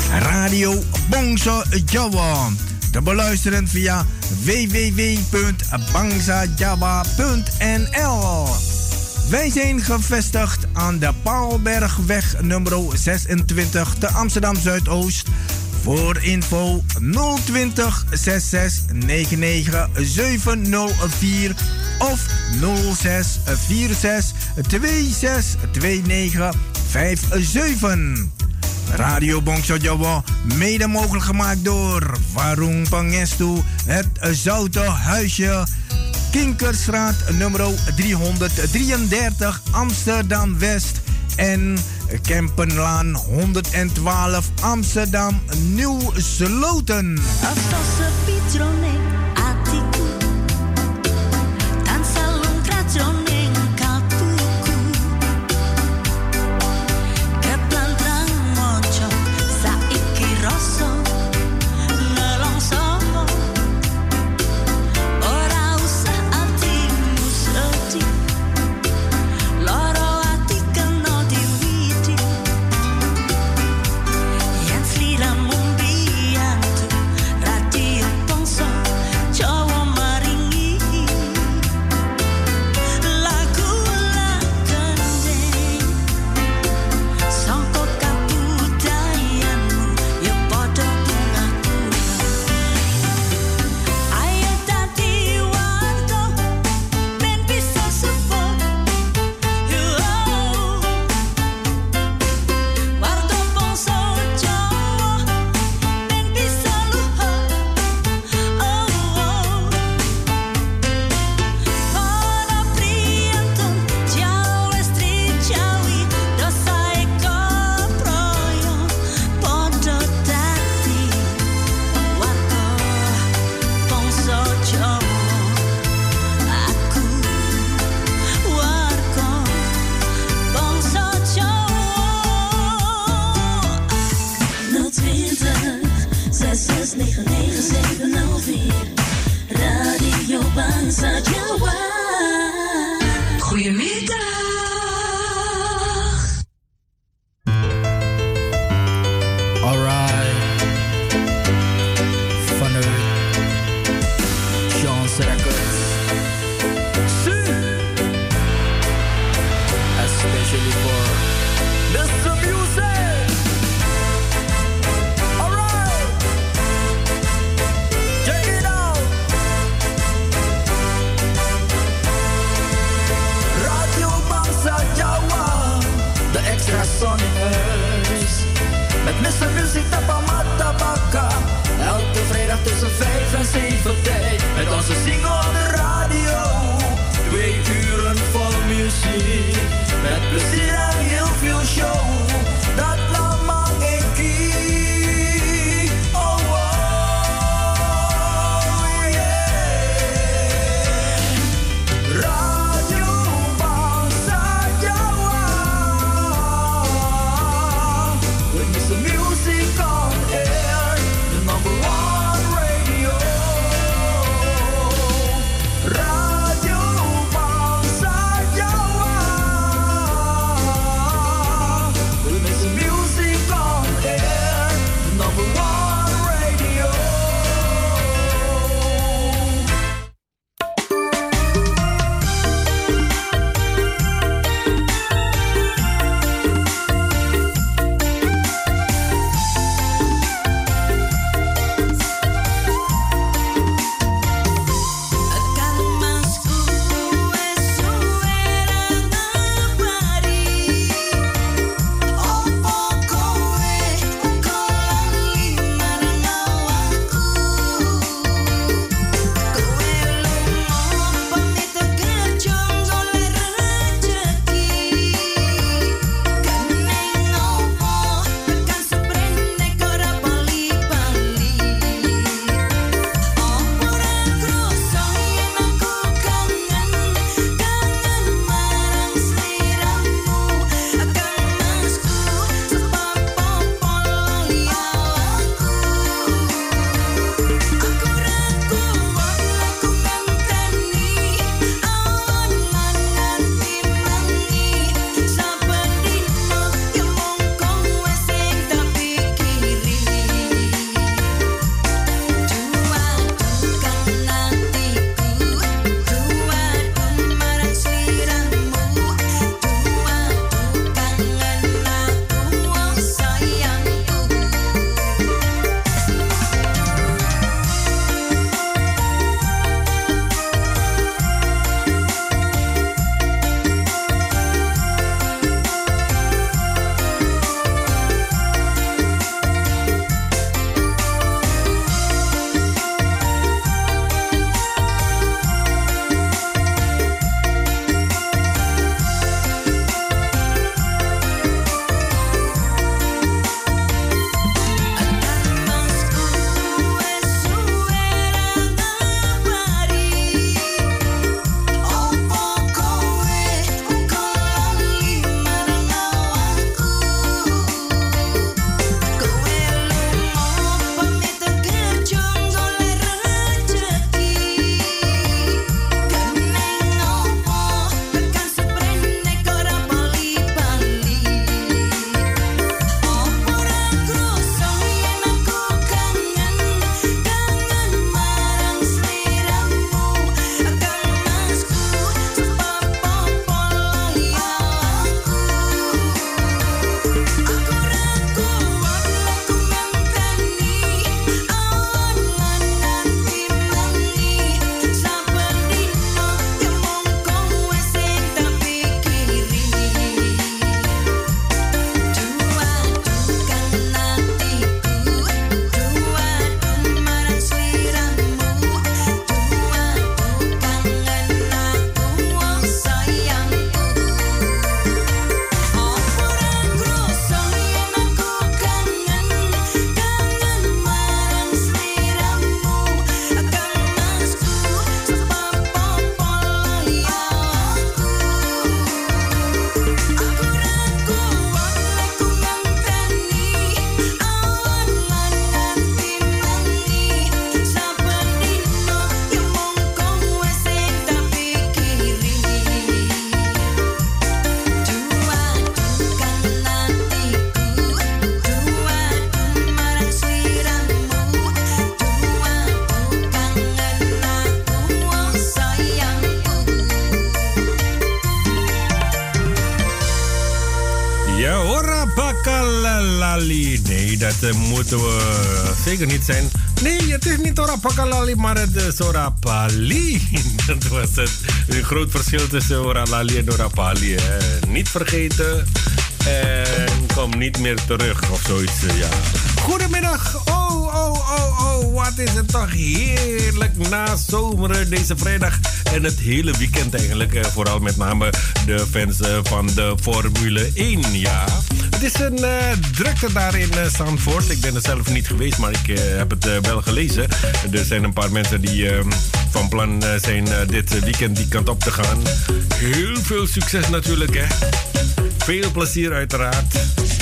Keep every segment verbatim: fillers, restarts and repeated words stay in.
Radio Bangsa Jawa. Te beluisteren via w w w punt bangsa jawa punt n l. Wij zijn gevestigd aan de Paalbergweg nummer zesentwintig te Amsterdam Zuidoost. Voor info nul twintig zes zes negen negen zeven nul vier of nul zes vier zes twee zes twee negen vijf zeven. Radio Bangsa Jawa, mede mogelijk gemaakt door Warung Pangestu, het Zoute Huisje, Kinkerstraat nummer driehonderddrieëndertig Amsterdam West en Kempenlaan honderdtwaalf Amsterdam Nieuw Sloten. Music on Lali. Nee, dat uh, moeten we zeker niet zijn. Nee, het is niet Ora Pakalali, maar het is Ora Pali. Dat was het. Een groot verschil tussen Ora Lali en Ora Pali. Hè. Niet vergeten. En kom niet meer terug of zoiets. Ja. Goedemiddag. Oh, oh, oh, oh. Wat is het toch heerlijk na zomeren deze vrijdag. En het hele weekend eigenlijk. Vooral met name de fans van de Formule één. Ja. Het is een uh, drukte daar in uh, Zandvoort. Ik ben er zelf niet geweest, maar ik uh, heb het uh, wel gelezen. Er zijn een paar mensen die uh, van plan uh, zijn uh, dit weekend die kant op te gaan. Heel veel succes natuurlijk, hè. Veel plezier uiteraard.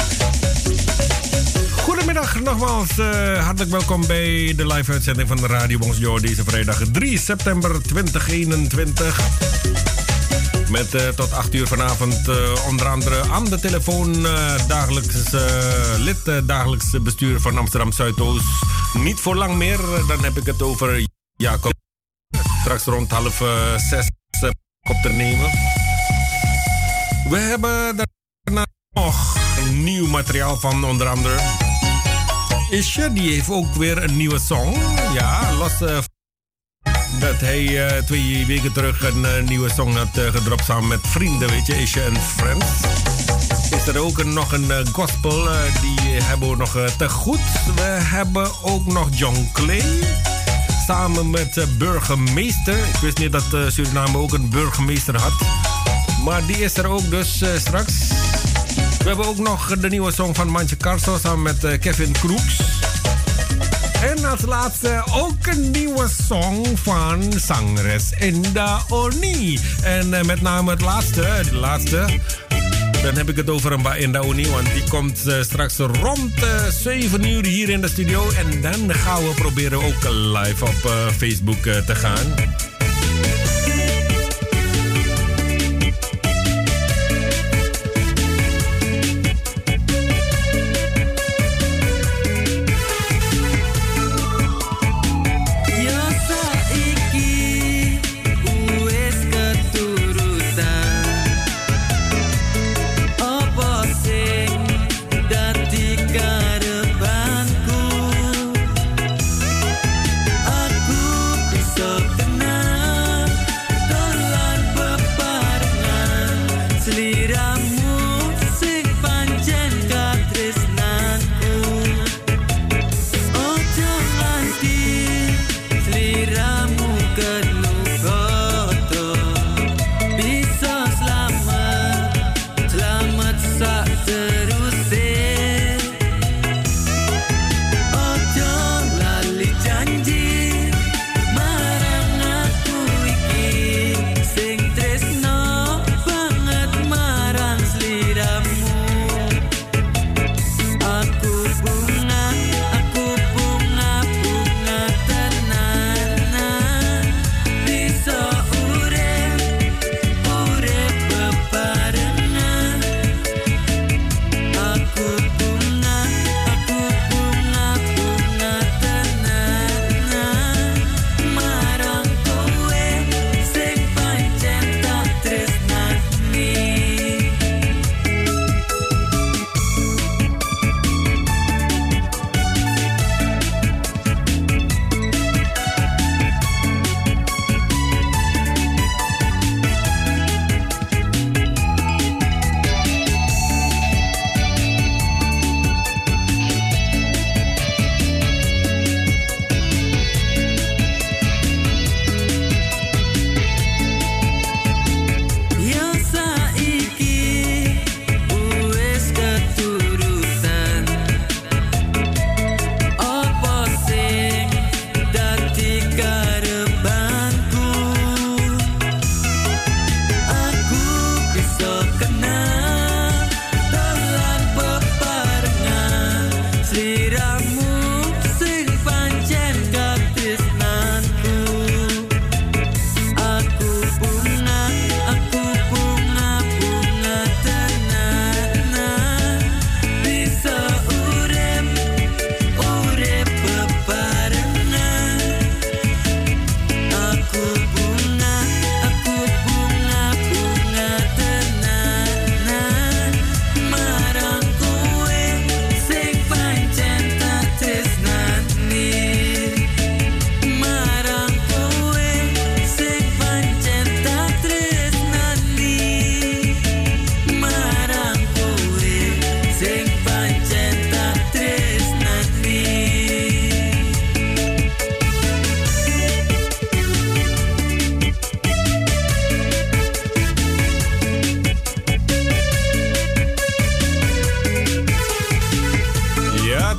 Goedemiddag nogmaals. Uh, hartelijk welkom bij de live uitzending van de Radio Bonjour deze vrijdag drie september tweeduizend eenentwintig. Met uh, tot acht uur vanavond uh, onder andere aan de telefoon uh, dagelijks uh, lid, uh, dagelijks bestuur van Amsterdam Zuidoost. Niet voor lang meer, dan heb ik het over Jacob. Straks rond half uh, zes uh, op te nemen. We hebben daarna nog nieuw materiaal van onder andere Isje. Die heeft ook weer een nieuwe song. Ja, los uh, dat hij uh, twee weken terug een uh, nieuwe song had uh, gedropt samen met vrienden, weet je, Isje en Friends. Is er ook een, nog een uh, gospel, uh, die hebben we nog uh, te goed. We hebben ook nog John Clay. Samen met uh, burgemeester. Ik wist niet dat uh, Suriname ook een burgemeester had. Maar die is er ook dus uh, straks. We hebben ook nog de nieuwe song van Mantje Carso samen met uh, Kevin Kroeks. En als laatste ook een nieuwe song van zangeres Enda Oni. En uh, met name het laatste, de laatste. Dan heb ik het over een Enda Oni, want die komt uh, straks rond uh, zeven uur hier in de studio. En dan gaan we proberen ook live op uh, Facebook uh, te gaan. Aku bisa tenang.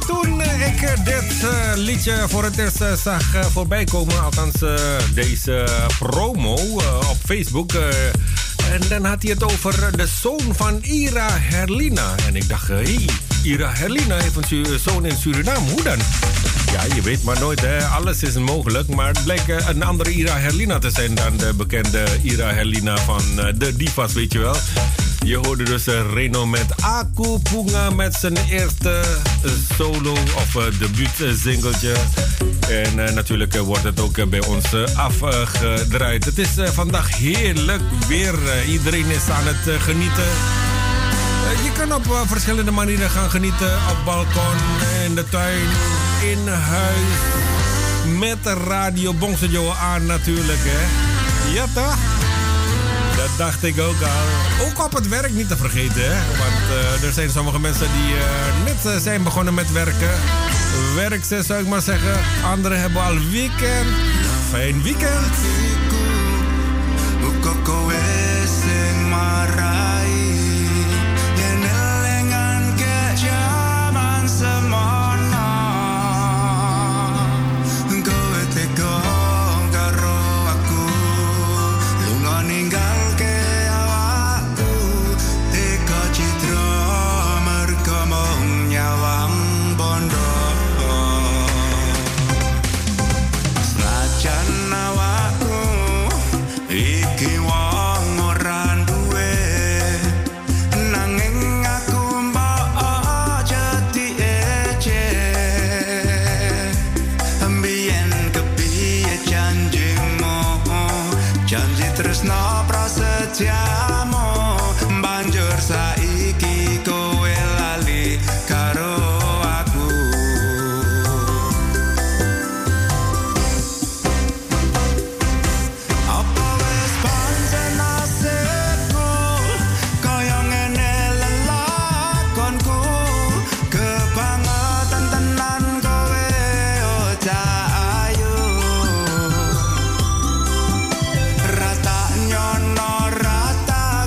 toen ik dit uh, liedje voor het eerst uh, zag uh, voorbij komen, althans uh, deze promo uh, op Facebook. Uh, en dan had hij het over de zoon van Ira Herlina. En ik dacht, hé, hey, Ira Herlina heeft een su- zoon in Suriname. Hoe dan? Ja, je weet maar nooit, hè. Alles is mogelijk. Maar het bleek uh, een andere Ira Herlina te zijn dan de bekende Ira Herlina van uh, de Divas, weet je wel. Je hoorde dus uh, Reno met Aku Punga met zijn eerste uh, solo of uh, debuut uh, singeltje. En uh, natuurlijk uh, wordt het ook uh, bij ons uh, afgedraaid. Uh, het is uh, vandaag heerlijk weer. Uh, iedereen is aan het uh, genieten. Uh, je kan op uh, verschillende manieren gaan genieten. Op balkon, in de tuin, in huis. Met de radio Bongsojo aan natuurlijk, hè. Ja toch? Dat dacht ik ook al. Ook op het werk niet te vergeten, hè. Want uh, er zijn sommige mensen die uh, net uh, zijn begonnen met werken. Werkzes zou ik maar zeggen. Anderen hebben al weekend. Fijn weekend. Rata nyono rata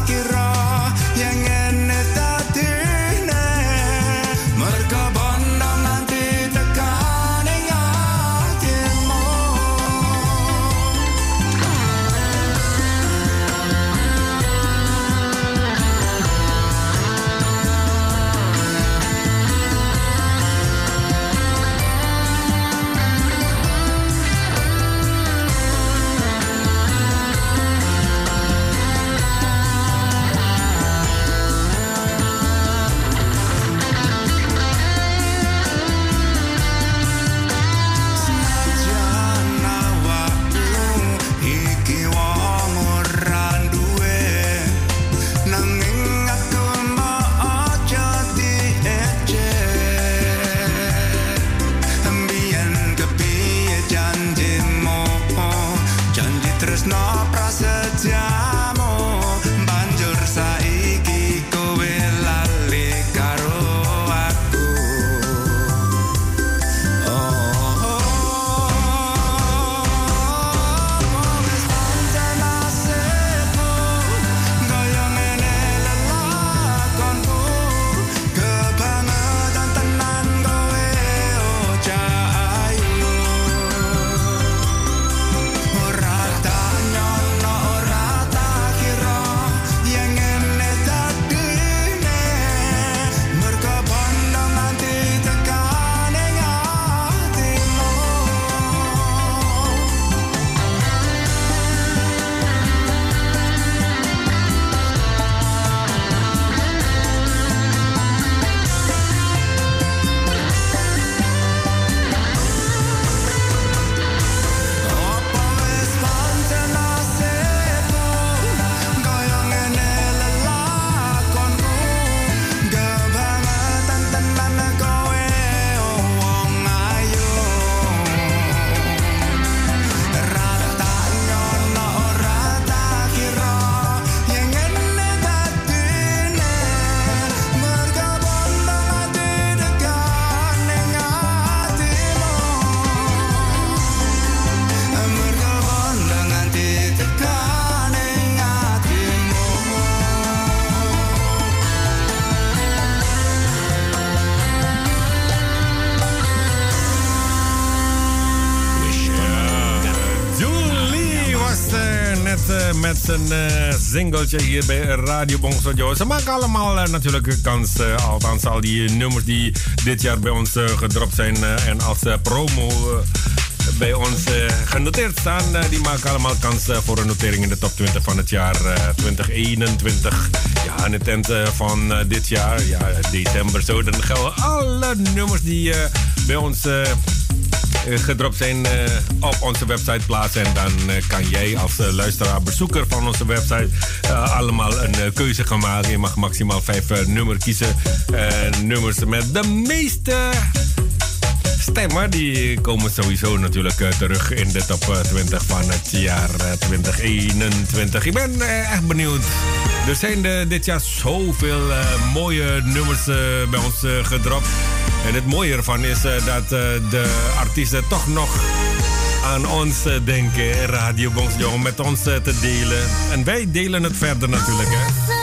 uh, met zijn uh, singeltje hier bij Radio Bongsojo. Ze maken allemaal uh, natuurlijk kans, uh, althans al die nummers die dit jaar bij ons uh, gedropt zijn uh, en als uh, promo uh, bij ons uh, genoteerd staan. Uh, die maken allemaal kans uh, voor een notering in de top twintig van het jaar uh, twintig eenentwintig. Ja, aan het eind uh, van uh, dit jaar, ja, december zo, dan gelden alle nummers die uh, bij ons uh, gedropt zijn uh, op onze website plaatsen. En dan uh, kan jij als uh, luisteraar, bezoeker van onze website uh, allemaal een uh, keuze gaan maken. Je mag maximaal vijf uh, nummers kiezen. Uh, nummers met de meeste stemmen, die komen sowieso natuurlijk uh, terug in de top uh, twintig van het jaar uh, twintig eenentwintig. Ik ben uh, echt benieuwd. Er zijn uh, dit jaar zoveel uh, mooie nummers uh, bij ons uh, gedropt. En het mooie ervan is uh, dat uh, de artiesten toch nog aan ons uh, denken, Radio Bongsojo, om met ons uh, te delen. En wij delen het verder natuurlijk, hè.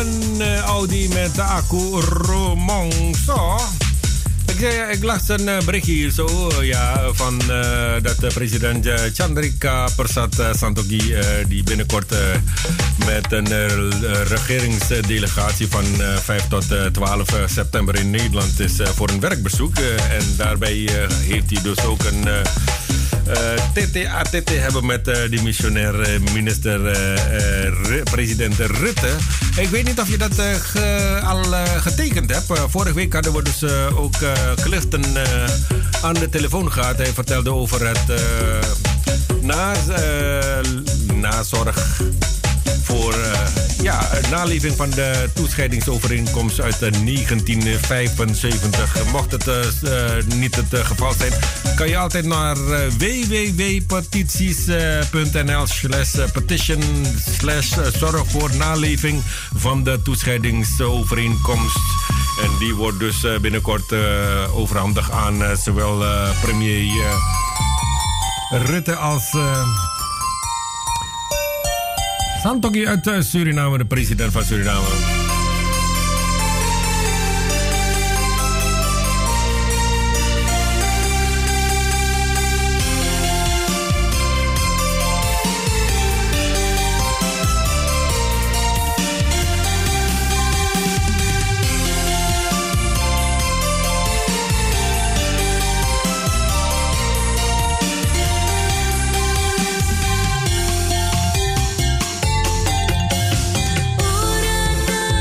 een uh, Audi met de accu Romongso. Ik, uh, ik las een uh, berichtje hier zo, uh, ja, van uh, dat uh, president uh, Chandrika Persat uh, Santokhi, uh, die binnenkort uh, met een uh, regeringsdelegatie van uh, vijf tot twaalf september in Nederland is uh, voor een werkbezoek. Uh, en daarbij uh, heeft hij dus ook een... Uh, Uh, T T A T T hebben met uh, die missionair uh, minister uh, uh, president Rutte. Ik weet niet of je dat uh, ge, al uh, getekend hebt. Uh, vorige week hadden we dus uh, ook uh, Clifton uh, aan de telefoon gehad. Hij vertelde over het uh, na, uh, nazorg voor uh, ja, naleving van de toescheidingsovereenkomst uit uh, negentien vijfenzeventig. Mocht het uh, uh, niet het uh, geval zijn, kan je altijd naar uh, w w w punt petities punt n l slash petition slash zorg voor naleving van de toescheidingsovereenkomst. En die wordt dus uh, binnenkort uh, overhandigd aan uh, zowel uh, premier uh, Rutte als... Uh, Santokhi uit Suriname, de president van Suriname. Ora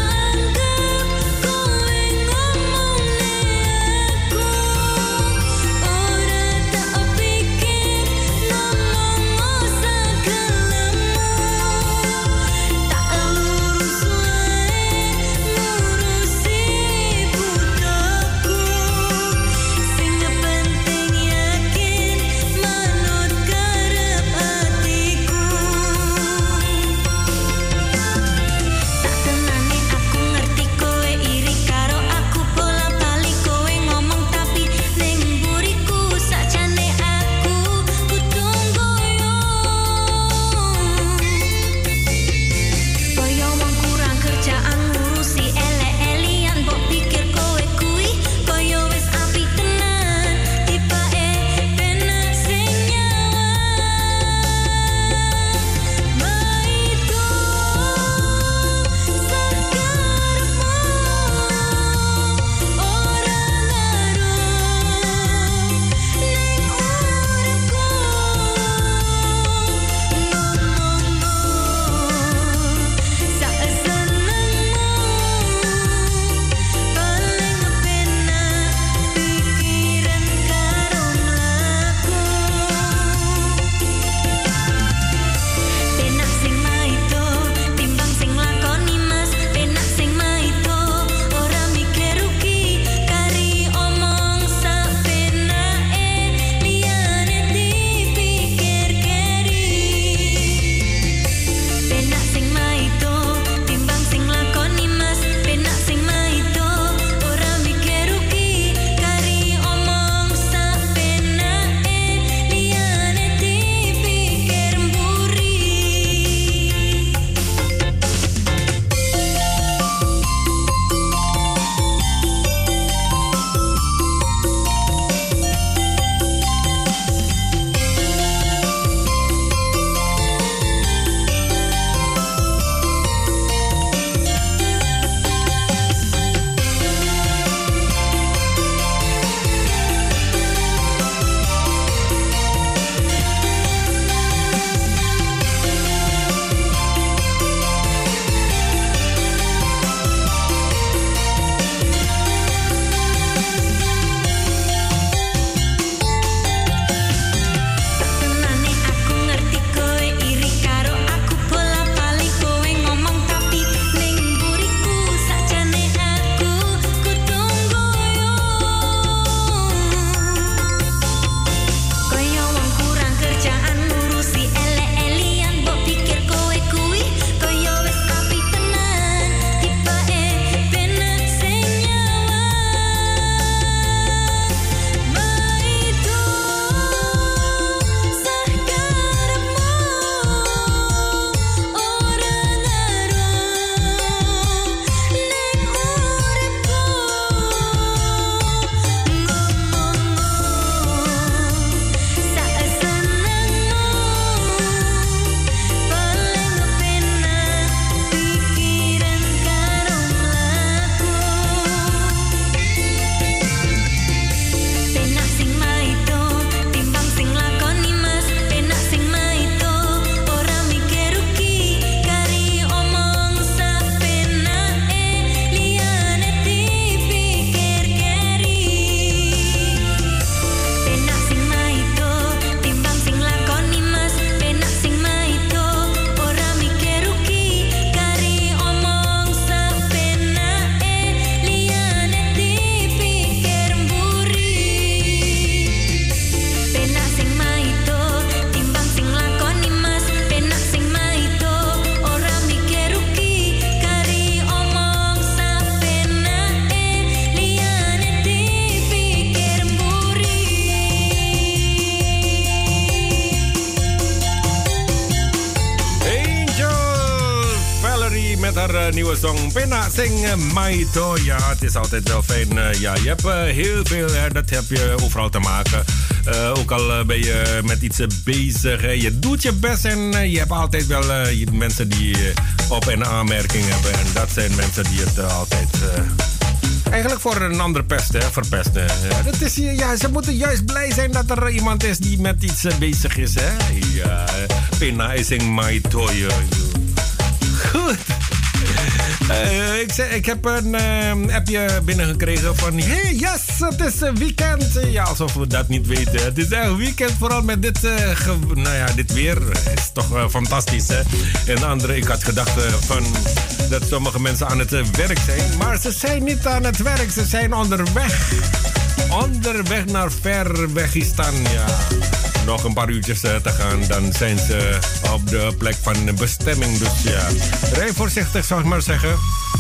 de nieuwe song Pena Sing Maito. Ja, het is altijd wel fijn. Uh, ja, je hebt uh, heel veel, hè, dat heb je overal te maken. Uh, ook al uh, ben je met iets uh, bezig. Hè. Je doet je best en uh, je hebt altijd wel uh, mensen die uh, op- en aanmerking hebben. En dat zijn mensen die het uh, altijd... Uh, Eigenlijk voor een ander pesten, hè, verpesten. Ja, dat is, ja, ze moeten juist blij zijn dat er iemand is die met iets uh, bezig is. Hè? Ja, Pena Sing Maito. Goed. Uh, ik, zeg, ik heb een uh, appje binnengekregen van... Hey, yes, het is een weekend. Ja, alsof we dat niet weten. Het is echt weekend, vooral met dit, uh, ge, nou ja, dit weer. Het is toch uh, fantastisch, hè? En andere, ik had gedacht uh, van... dat sommige mensen aan het uh, werk zijn. Maar ze zijn niet aan het werk, ze zijn onderweg. Onderweg naar Verwegistan, ja. Nog een paar uurtjes uh, te gaan, dan zijn ze op de plek van bestemming. Dus ja, rij voorzichtig, zou ik maar zeggen.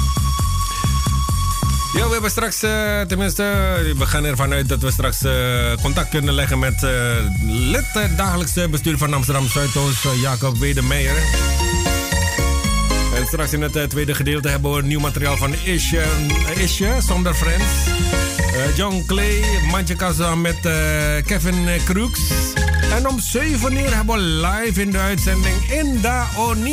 Ja, we hebben straks, uh, tenminste, we gaan ervan uit dat we straks uh, contact kunnen leggen met uh, lid uh, dagelijkse bestuur van Amsterdam Zuidoost, uh, Jacob Wedemeijer. En straks in het uh, tweede gedeelte hebben we nieuw materiaal van Isje, uh, Isje zonder Friends. Uh, John Clay, Mantje Kassa met uh, Kevin Crooks. En om zeven uur hebben we live in de uitzending Inda Oni.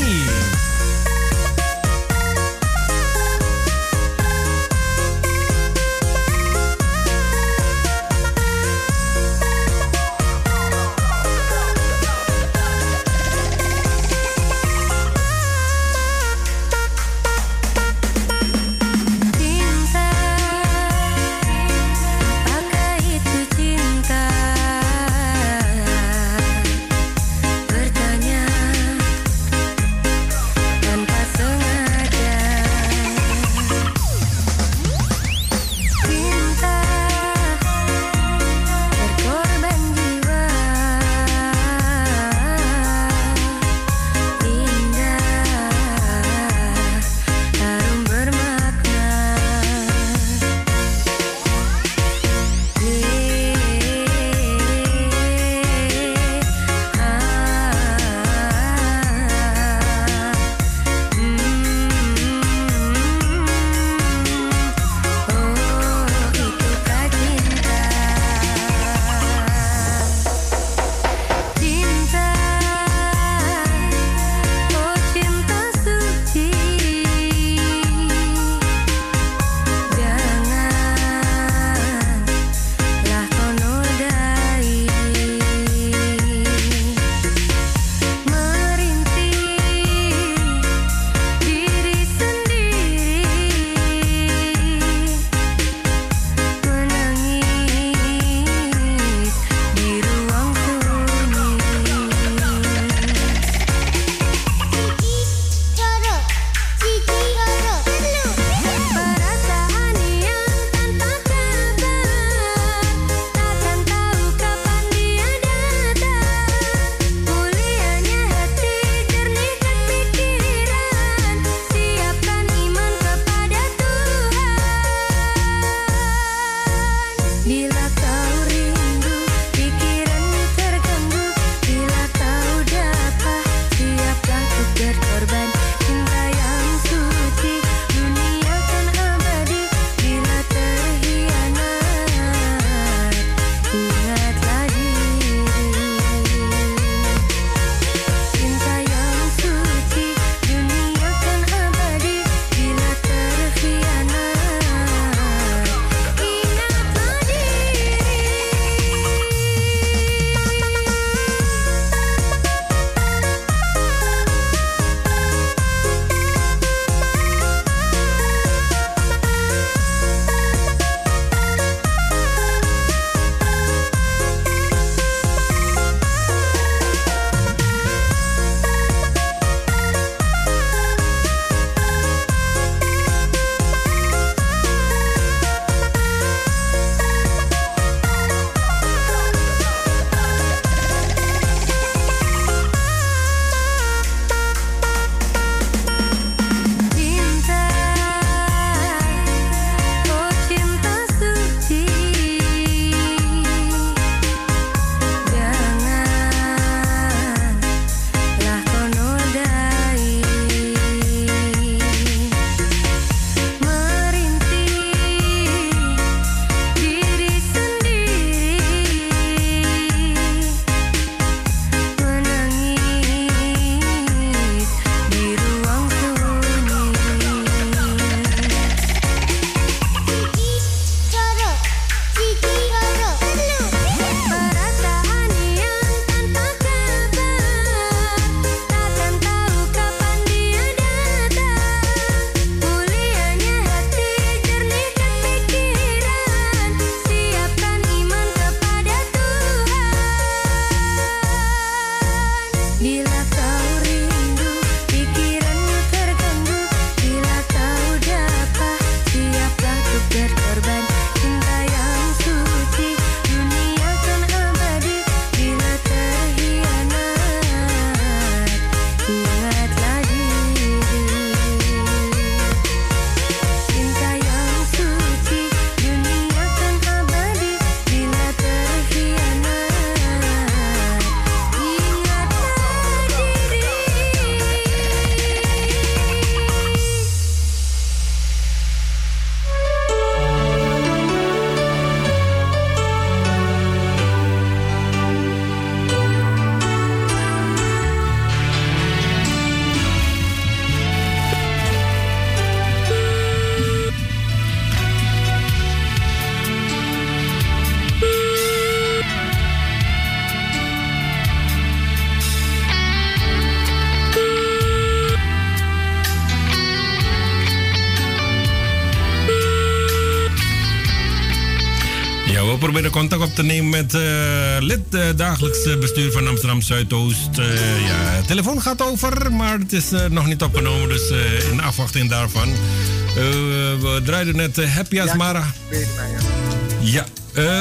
we proberen contact op te nemen met uh, lid uh, dagelijks bestuur van Amsterdam Zuidoost. Uh, ja, de telefoon gaat over, maar het is uh, nog niet opgenomen, dus uh, in afwachting daarvan. Uh, we draaiden net uh, Happy as Mara. Ja, uh,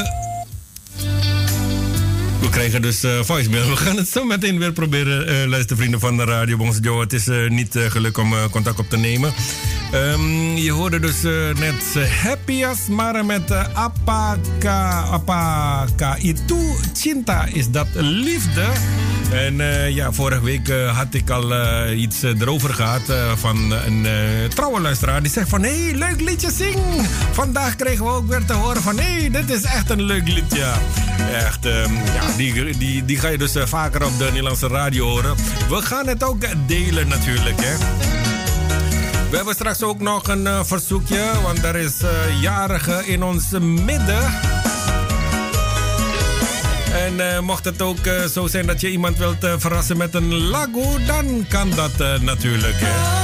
we krijgen dus uh, voicemail. We gaan het zo meteen weer proberen, uh, luistervrienden van de Radio Bongso. Het is uh, niet uh, gelukt om uh, contact op te nemen. Um, je hoorde dus uh, net uh, Happy as Mara met uh, Apaka, Apaka Itu Cinta, is dat liefde. En uh, ja, vorige week uh, had ik al uh, iets uh, erover gehad uh, van een uh, trouwe luisteraar. Die zegt van, hé, hey, leuk liedje, zing. Vandaag kregen we ook weer te horen van, hé, hey, dit is echt een leuk liedje. Echt, um, ja, die, die, die ga je dus uh, vaker op de Nederlandse radio horen. We gaan het ook delen natuurlijk, hè. We hebben straks ook nog een uh, verzoekje, want er is uh, jarige in ons midden. En uh, mocht het ook uh, zo zijn dat je iemand wilt uh, verrassen met een lagu, dan kan dat uh, natuurlijk. Hè.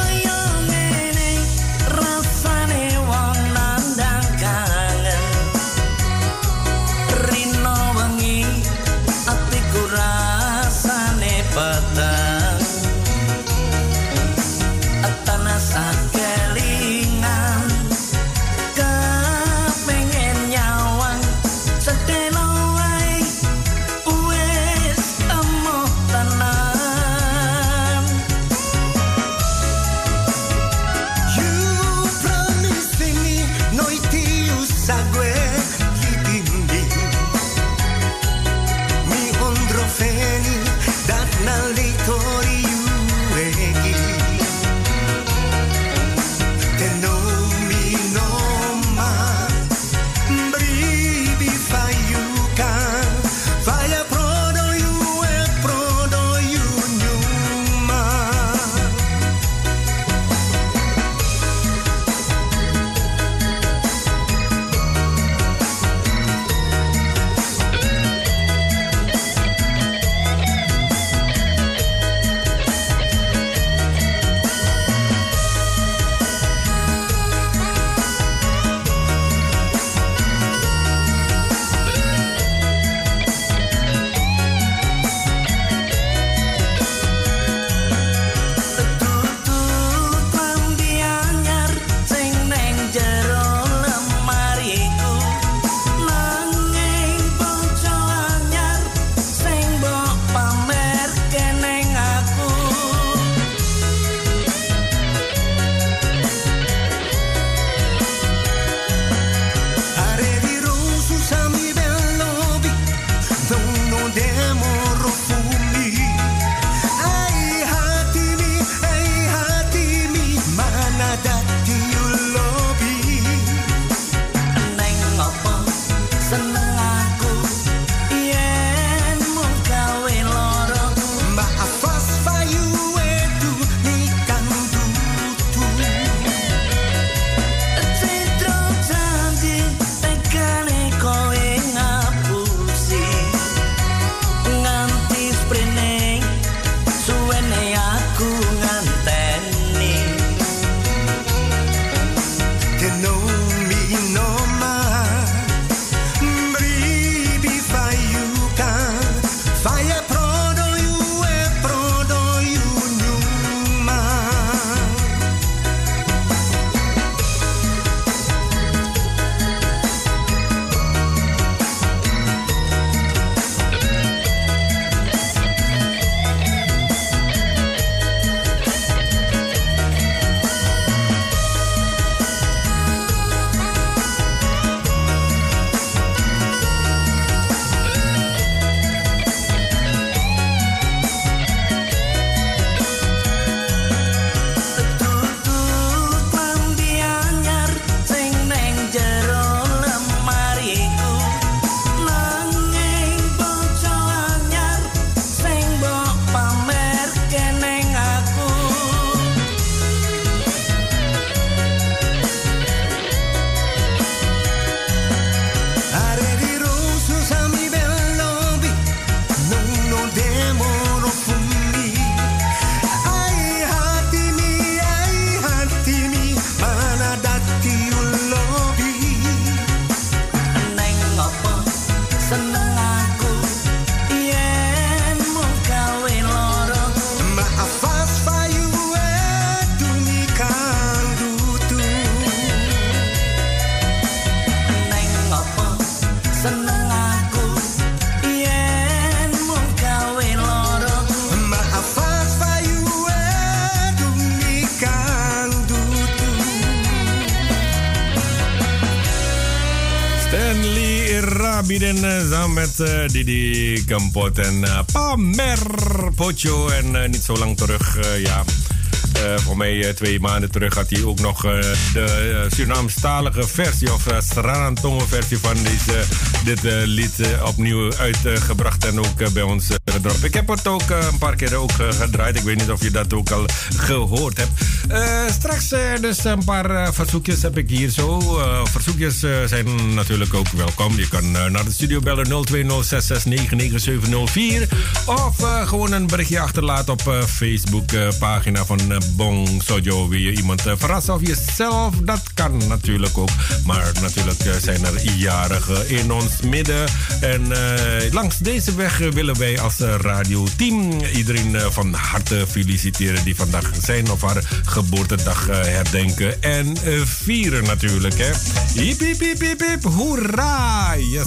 Stanley Rabiden samen met uh, Didi Kempot en uh, Pamer Pocho. En uh, niet zo lang terug, uh, ja... Uh, voor mij uh, twee maanden terug had hij ook nog uh, de uh, Surinaamstalige versie of uh, Sranan-Tongo versie van deze, dit uh, lied uh, opnieuw uitgebracht uh, en ook uh, bij ons uh, gedropt. Ik heb het ook uh, een paar keer ook uh, gedraaid. Ik weet niet of je dat ook al gehoord hebt. Uh, straks uh, dus een paar uh, verzoekjes heb ik hier zo. Uh, verzoekjes uh, zijn natuurlijk ook welkom. Je kan uh, naar de studio bellen nul twee nul zes zes negen negen zeven nul vier of uh, gewoon een berichtje achterlaten op uh, Facebook uh, pagina van uh, Bong Sojo. Wil je iemand uh, verrassen of jezelf? Dat kan natuurlijk ook. Maar natuurlijk uh, zijn er jarigen in ons midden. En uh, langs deze weg uh, willen wij als uh, radioteam iedereen uh, van harte feliciteren die vandaag zijn of haar geboortedag uh, herdenken en uh, vieren natuurlijk. Hè. Hip, hip, hip, hip, hip, hoera! Yes!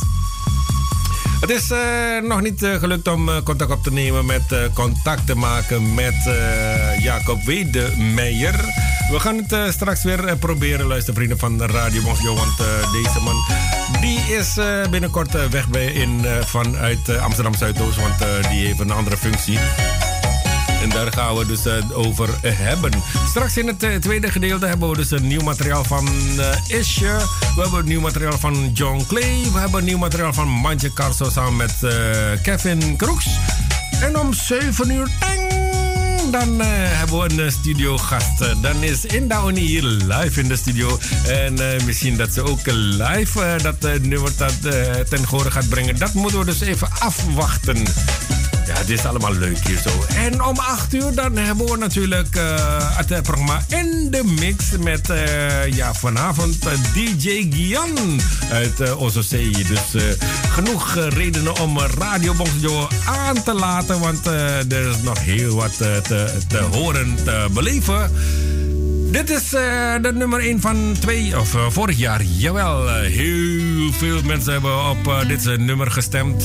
Het is uh, nog niet uh, gelukt om uh, contact op te nemen met uh, contact te maken met uh, Jacob Wedemeijer. We gaan het uh, straks weer uh, proberen, luistervrienden van Radio Bongso. Want uh, deze man die is uh, binnenkort uh, weg bij in, uh, vanuit uh, Amsterdam Zuidoost. Want uh, die heeft een andere functie. En daar gaan we dus uh, over uh, hebben. Straks in het uh, tweede gedeelte hebben we dus een nieuw materiaal van uh, Isje. We hebben nieuw materiaal van John Clay. We hebben nieuw materiaal van Mantje Carso samen met uh, Kevin Kroeks. En om zeven uur, tang, dan uh, hebben we een studiogast. Uh, dan is Inda Oni hier live in de studio. En uh, misschien dat ze ook live uh, dat uh, nummer dat, uh, ten gehore gaat brengen. Dat moeten we dus even afwachten. Ja, het is allemaal leuk hier zo. En om acht uur dan hebben we natuurlijk uh, het programma In de Mix met uh, ja, vanavond uh, D J Gian uit uh, O Z C. Dus uh, genoeg uh, redenen om uh, Radio Bongso aan te laten, want uh, er is nog heel wat uh, te, te horen, te beleven. Dit is uh, de nummer één van twee, of uh, vorig jaar. Jawel, uh, heel veel mensen hebben op uh, dit uh, nummer gestemd.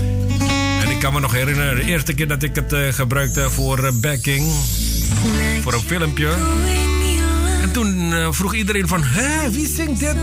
Ik kan me nog herinneren, de eerste keer dat ik het uh, gebruikte voor uh, backing, voor een filmpje. En toen uh, vroeg iedereen van, hé, wie zingt dit?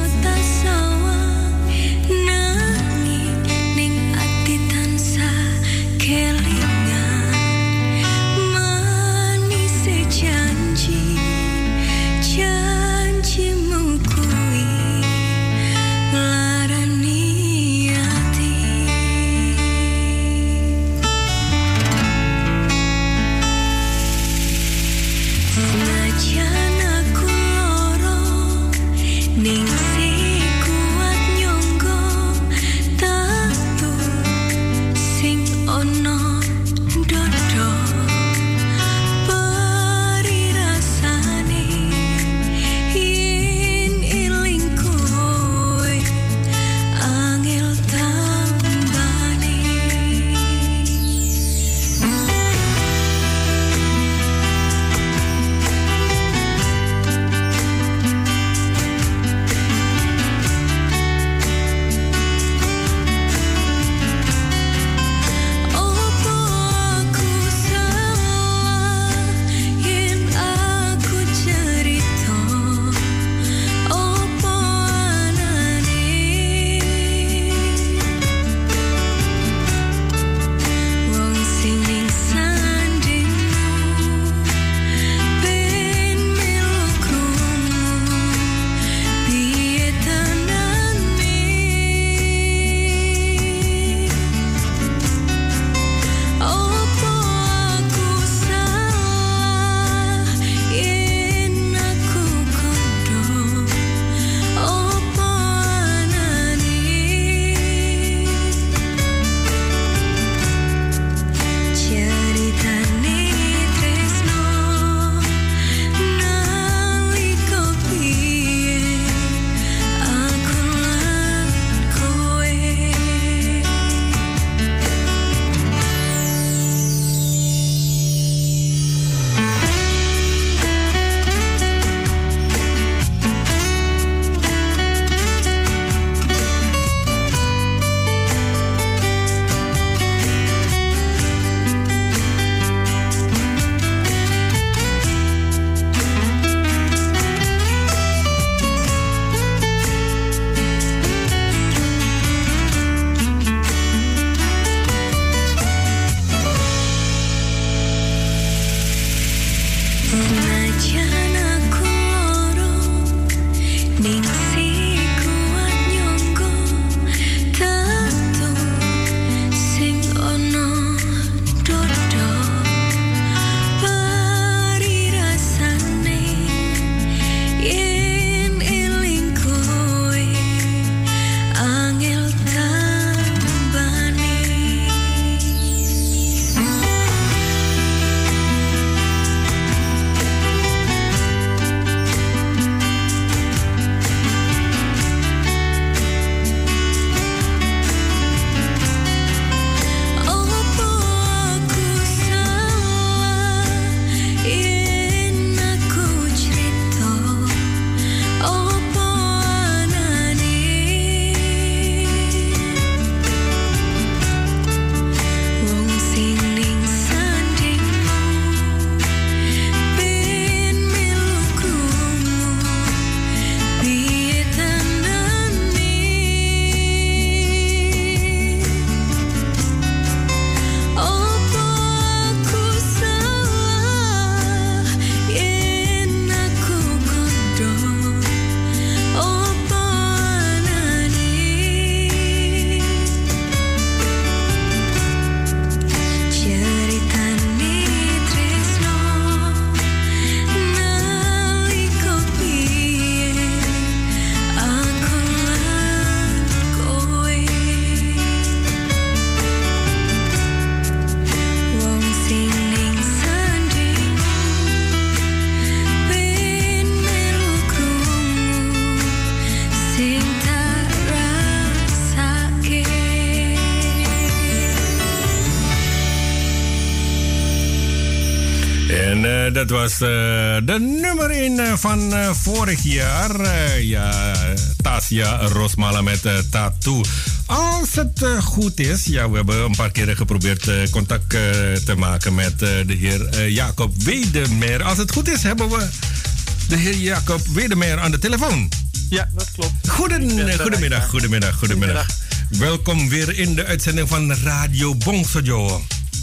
uh, dat was uh, de nummer één uh, van uh, vorig jaar. Uh, ja, Tasia Rosmala met uh, Tattoo. Als het uh, goed is, ja, we hebben een paar keren geprobeerd uh, contact uh, te maken met uh, de heer uh, Jacob Wedemeyer. Als het goed is, hebben we de heer Jacob Wedemeyer aan de telefoon. Ja, dat klopt. Goeden, goedemiddag, goedemiddag, goedemiddag, goedemiddag. Welkom weer in de uitzending van Radio Bongsojo.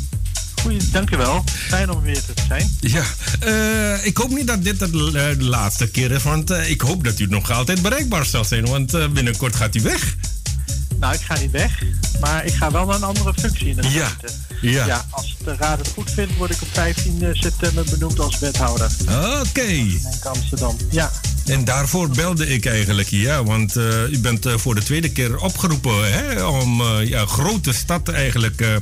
Goeie, dankjewel. Fijn om weer te zijn. Ja, uh, ik hoop niet dat dit de, uh, de laatste keer is, want uh, ik hoop dat u nog altijd bereikbaar zal zijn, want uh, binnenkort gaat u weg. Nou, ik ga niet weg, maar ik ga wel naar een andere functie in de gemeente. Ja. Ja, als de raad het goed vindt, word ik op vijftien september benoemd als wethouder. Oké. Okay. In Amsterdam, ja. En daarvoor belde ik eigenlijk, ja, want uh, u bent uh, voor de tweede keer opgeroepen, hè, om uh, ja, grote stad eigenlijk uh,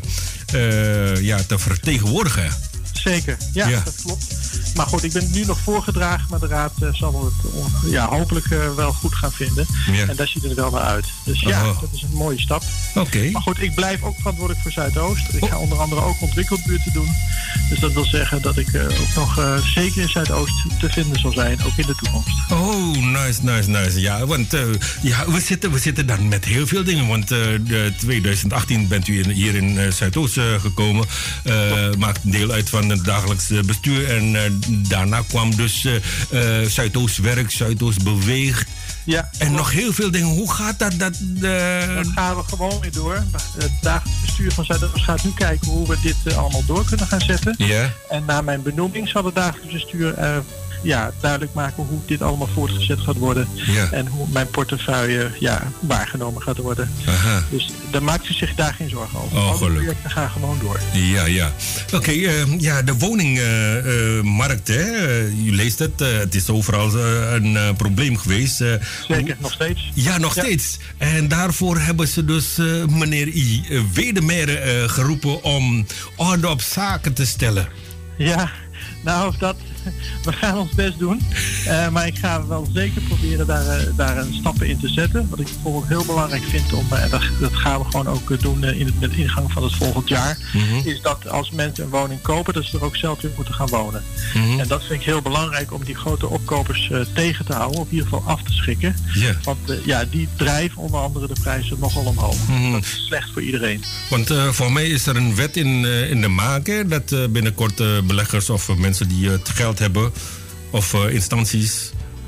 uh, ja, te vertegenwoordigen. Zeker, ja, ja, dat klopt. Maar goed, ik ben nu nog voorgedragen, maar de raad uh, zal het uh, ja, hopelijk uh, wel goed gaan vinden. Ja. En daar ziet het er wel naar uit. Dus ja, oh. dat is een mooie stap. Oké. Okay. Maar goed, ik blijf ook verantwoordelijk voor Zuidoost. Ik ga onder andere ook ontwikkelbuurten doen. Dus dat wil zeggen dat ik uh, ook nog uh, zeker in Zuidoost te vinden zal zijn, ook in de toekomst. Oh, nice, nice, nice. Ja, want uh, ja, we, zitten, we zitten dan met heel veel dingen. Want uh, de twintig achttien bent u in, hier in uh, Zuidoost uh, gekomen. Uh, maakt deel uit van het dagelijks bestuur. En uh, daarna kwam dus uh, uh, Zuidoost werkt, Zuidoost beweegt. Ja, en nog heel veel dingen. Hoe gaat dat? Dat, uh... dat gaan we gewoon weer door. Het dagelijks bestuur van Zuidoost gaat nu kijken hoe we dit uh, allemaal door kunnen gaan zetten. Yeah. En na mijn benoeming zal het dagelijks bestuur uh, ja, duidelijk maken hoe dit allemaal voortgezet gaat worden. Yeah. En hoe mijn portefeuille ja, waargenomen gaat worden. Aha. Dus daar maakt u zich daar geen zorgen over. Oh, alle projecten gaan gewoon door. Ja, ja. Oké, okay, uh, ja, de woningmarkt, uh, uh, hè. Uh, u leest het. Uh, het is overal uh, een uh, probleem geweest. Uh, Zeker, nog steeds. Ja, nog ja. steeds. En daarvoor hebben ze dus uh, meneer I. Wedemeyer uh, geroepen om orde op zaken te stellen. Ja, nou, dat... We gaan ons best doen, uh, maar ik ga wel zeker proberen daar, uh, daar een stappen in te zetten. Wat ik bijvoorbeeld heel belangrijk vind, om, uh, dat, dat gaan we gewoon ook uh, doen uh, in het, met ingang van het volgend jaar, mm-hmm. is dat als mensen een woning kopen, dat ze er ook zelf weer moeten gaan wonen. Mm-hmm. En dat vind ik heel belangrijk om die grote opkopers uh, tegen te houden, of in ieder geval af te schikken. Yeah. Want uh, ja, die drijven onder andere de prijzen nogal omhoog. Mm-hmm. Dat is slecht voor iedereen. Want uh, voor mij is er een wet in, uh, in de maak, hè, dat uh, binnenkort uh, beleggers of uh, mensen die uh, het geld hebben of uh, instanties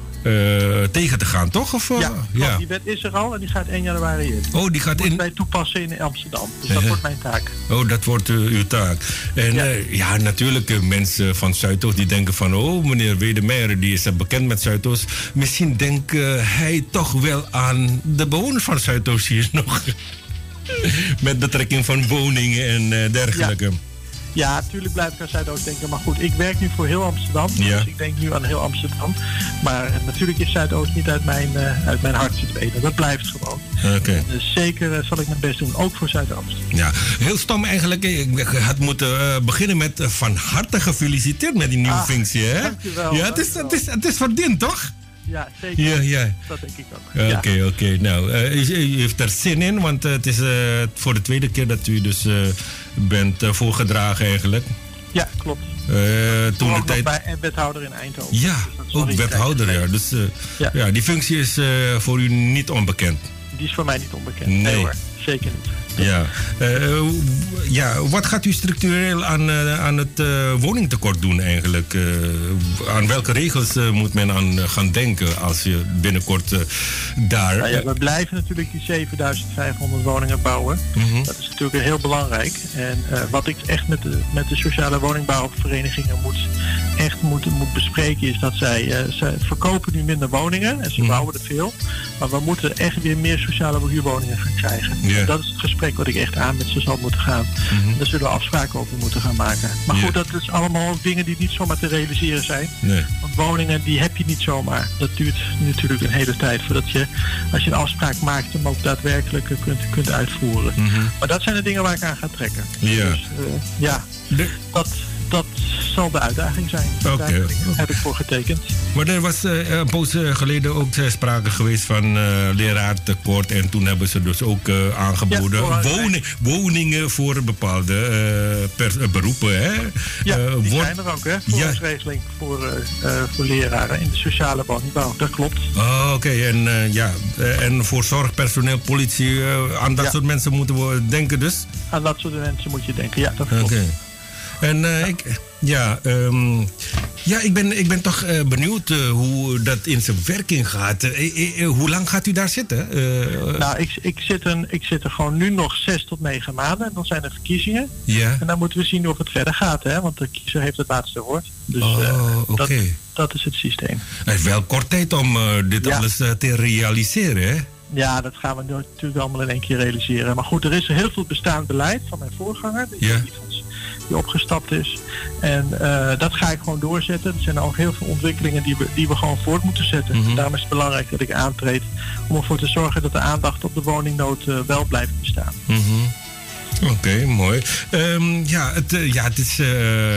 uh, tegen te gaan, toch? Of, uh, ja, ja, die wet is er al en die gaat één januari in. Oh, die gaat in. in. Wij toepassen in Amsterdam. Dus dat uh, wordt mijn taak. Oh, dat wordt uh, uw taak. En ja, uh, ja natuurlijk uh, mensen van Zuidoost die denken van, oh, meneer Wedemeyer, die is uh, bekend met Zuidoost. Misschien denkt uh, hij toch wel aan de bewoners van Zuidoost hier nog. Met betrekking van woningen en uh, dergelijke. Ja. Ja, natuurlijk blijf ik aan Zuidoost denken. Maar goed, ik werk nu voor heel Amsterdam. Ja. Dus ik denk nu aan heel Amsterdam. Maar natuurlijk is Zuidoost niet uit mijn, uh, uit mijn hart verdwenen. Dat blijft gewoon. Okay. Dus zeker uh, zal ik mijn best doen, ook voor Zuidoost. Ja, heel stom eigenlijk. Ik had moeten uh, beginnen met uh, van harte gefeliciteerd met die nieuwe ah, functie. Hè? Dankjewel. Ja, het is, het is, het is verdiend, toch? Ja, zeker. Ja, ja. Dat denk ik ook. Oké, okay, ja. oké. Okay. Nou, uh, u, u heeft er zin in, want uh, het is uh, voor de tweede keer dat u dus uh, bent uh, voorgedragen eigenlijk. Ja, klopt. Uh, toen ook de tijd... bij en wethouder in Eindhoven. Ja, dus ook wethouder, ja. Dus uh, ja. ja, die functie is uh, voor u niet onbekend. Die is voor mij niet onbekend. Nee, nee hoor, zeker niet. Ja. Uh, ja, wat gaat u structureel aan, uh, aan het uh, woningtekort doen eigenlijk? Uh, aan welke regels uh, moet men aan uh, gaan denken als je binnenkort uh, daar... Nou ja, we blijven natuurlijk die zevenduizend vijfhonderd woningen bouwen. Mm-hmm. Dat is natuurlijk heel belangrijk. En uh, wat ik echt met de, met de sociale woningbouwverenigingen moet, echt moet, moet bespreken is dat zij, uh, zij verkopen nu minder woningen en ze mm-hmm. bouwen er veel. Maar we moeten echt weer meer sociale huurwoningen gaan krijgen. Yeah. Dat is het gesprek wat ik echt aan met ze zal moeten gaan. Mm-hmm. Daar zullen we afspraken over moeten gaan maken. Maar goed, yeah. dat is allemaal dingen die niet zomaar te realiseren zijn. Nee. Want woningen die heb je niet zomaar. Dat duurt natuurlijk een hele tijd voordat je, als je een afspraak maakt, hem ook daadwerkelijk kunt, kunt uitvoeren. Mm-hmm. Maar dat zijn de dingen waar ik aan ga trekken. Yeah. Dus uh, ja, de... dat, dat zal de uitdaging zijn. Oké. Okay. Daar heb ik voor getekend. Maar er was uh, een poos geleden ook sprake geweest van uh, leraartekort. En toen hebben ze dus ook uh, aangeboden ja, woning, woningen voor bepaalde uh, per, uh, beroepen. Hè? Ja, uh, die wordt... zijn er ook, hè? Voorrangsregeling ja. voor, uh, uh, voor leraren in de sociale woningbouw. Dat klopt. Oh, oké. Okay. En, uh, ja. uh, en voor zorgpersoneel, politie, uh, aan dat ja. soort mensen moeten we denken dus? Aan dat soort mensen moet je denken, ja, dat klopt. Okay. En uh, ja. ik... Ja, um, ja ik, ben, ik ben toch uh, benieuwd uh, hoe dat in zijn werking gaat. Uh, uh, hoe lang gaat u daar zitten? Uh, nou, ik, ik, zit een, ik zit er gewoon nu nog zes tot negen maanden. En dan zijn er verkiezingen. Ja. En dan moeten we zien of het verder gaat. Hè? Want de kiezer heeft het laatste woord. Dus oh, uh, okay. dat, dat is het systeem. Het heeft wel kort tijd om uh, dit ja. alles uh, te realiseren, hè? Ja, dat gaan we natuurlijk allemaal in één keer realiseren. Maar goed, er is heel veel bestaand beleid van mijn voorganger. Ja. Die opgestapt is. En uh, dat ga ik gewoon doorzetten. Er zijn ook heel veel ontwikkelingen die we, die we gewoon voort moeten zetten. Mm-hmm. Daarom is het belangrijk dat ik aantreed om ervoor te zorgen dat de aandacht op de woningnood uh, wel blijft bestaan. Mm-hmm. Oké, okay, mooi. Um, ja, het, uh, ja, het is. Uh,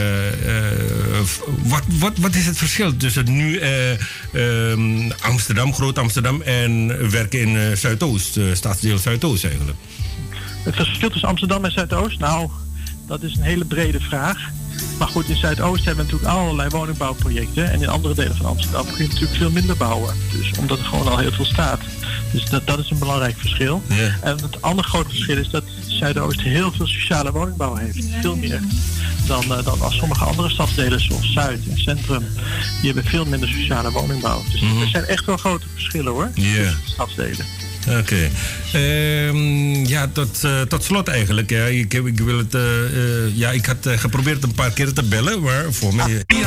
uh, wat, wat, wat is het verschil tussen nu uh, um, Amsterdam, Groot Amsterdam en werken in uh, Zuidoost, uh, stadsdeel Zuidoost eigenlijk? Het verschil tussen Amsterdam en Zuidoost? Nou, dat is een hele brede vraag. Maar goed, in Zuidoost hebben we natuurlijk allerlei woningbouwprojecten. En in andere delen van Amsterdam kun je natuurlijk veel minder bouwen. Dus omdat er gewoon al heel veel staat. Dus dat, dat is een belangrijk verschil. Yeah. En het andere grote verschil is dat Zuidoost heel veel sociale woningbouw heeft. Veel meer dan, uh, dan als sommige andere stadsdelen zoals Zuid en Centrum. Die hebben veel minder sociale woningbouw. Dus mm-hmm. er zijn echt wel grote verschillen hoor. Yeah. Tussen de stadsdelen. Oké. Okay. Um, ja, tot, uh, tot slot eigenlijk. Ja. Ik, ik, wil het, uh, uh, ja, ik had uh, geprobeerd een paar keer te bellen, maar voor mij... Ah.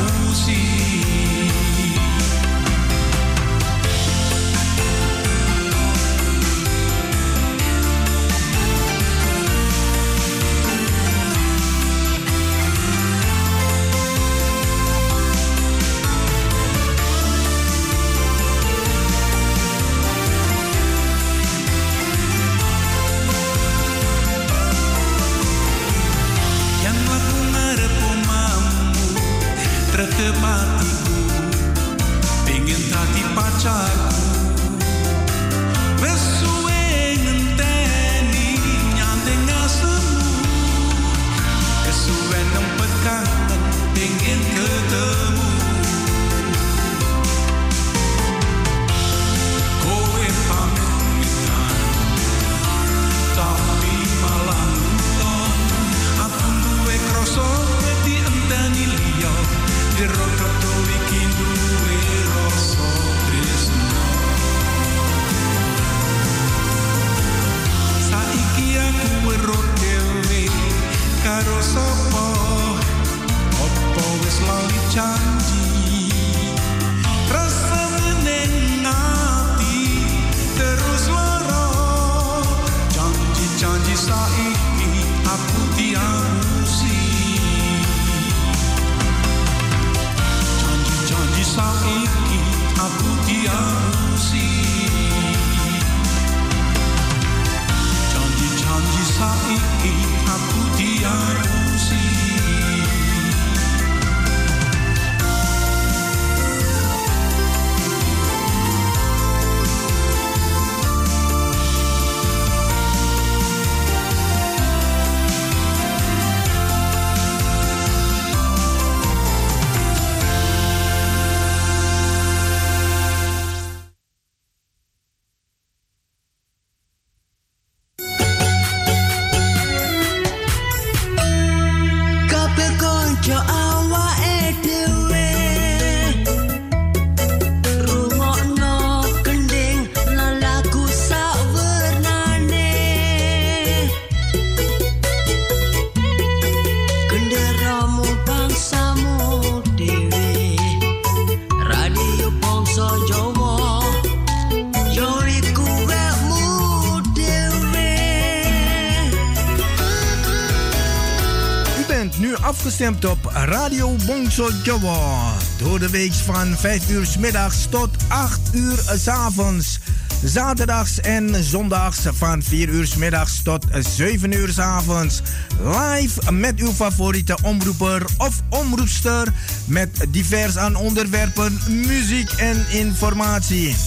Afgestemd op Radio Bongso Jawa. Door de week van vijf uur 's middags tot acht uur 's avonds. Zaterdags en zondags van vier uur 's middags tot zeven uur 's avonds. Live met uw favoriete omroeper of omroepster. Met divers aan onderwerpen, muziek en informatie.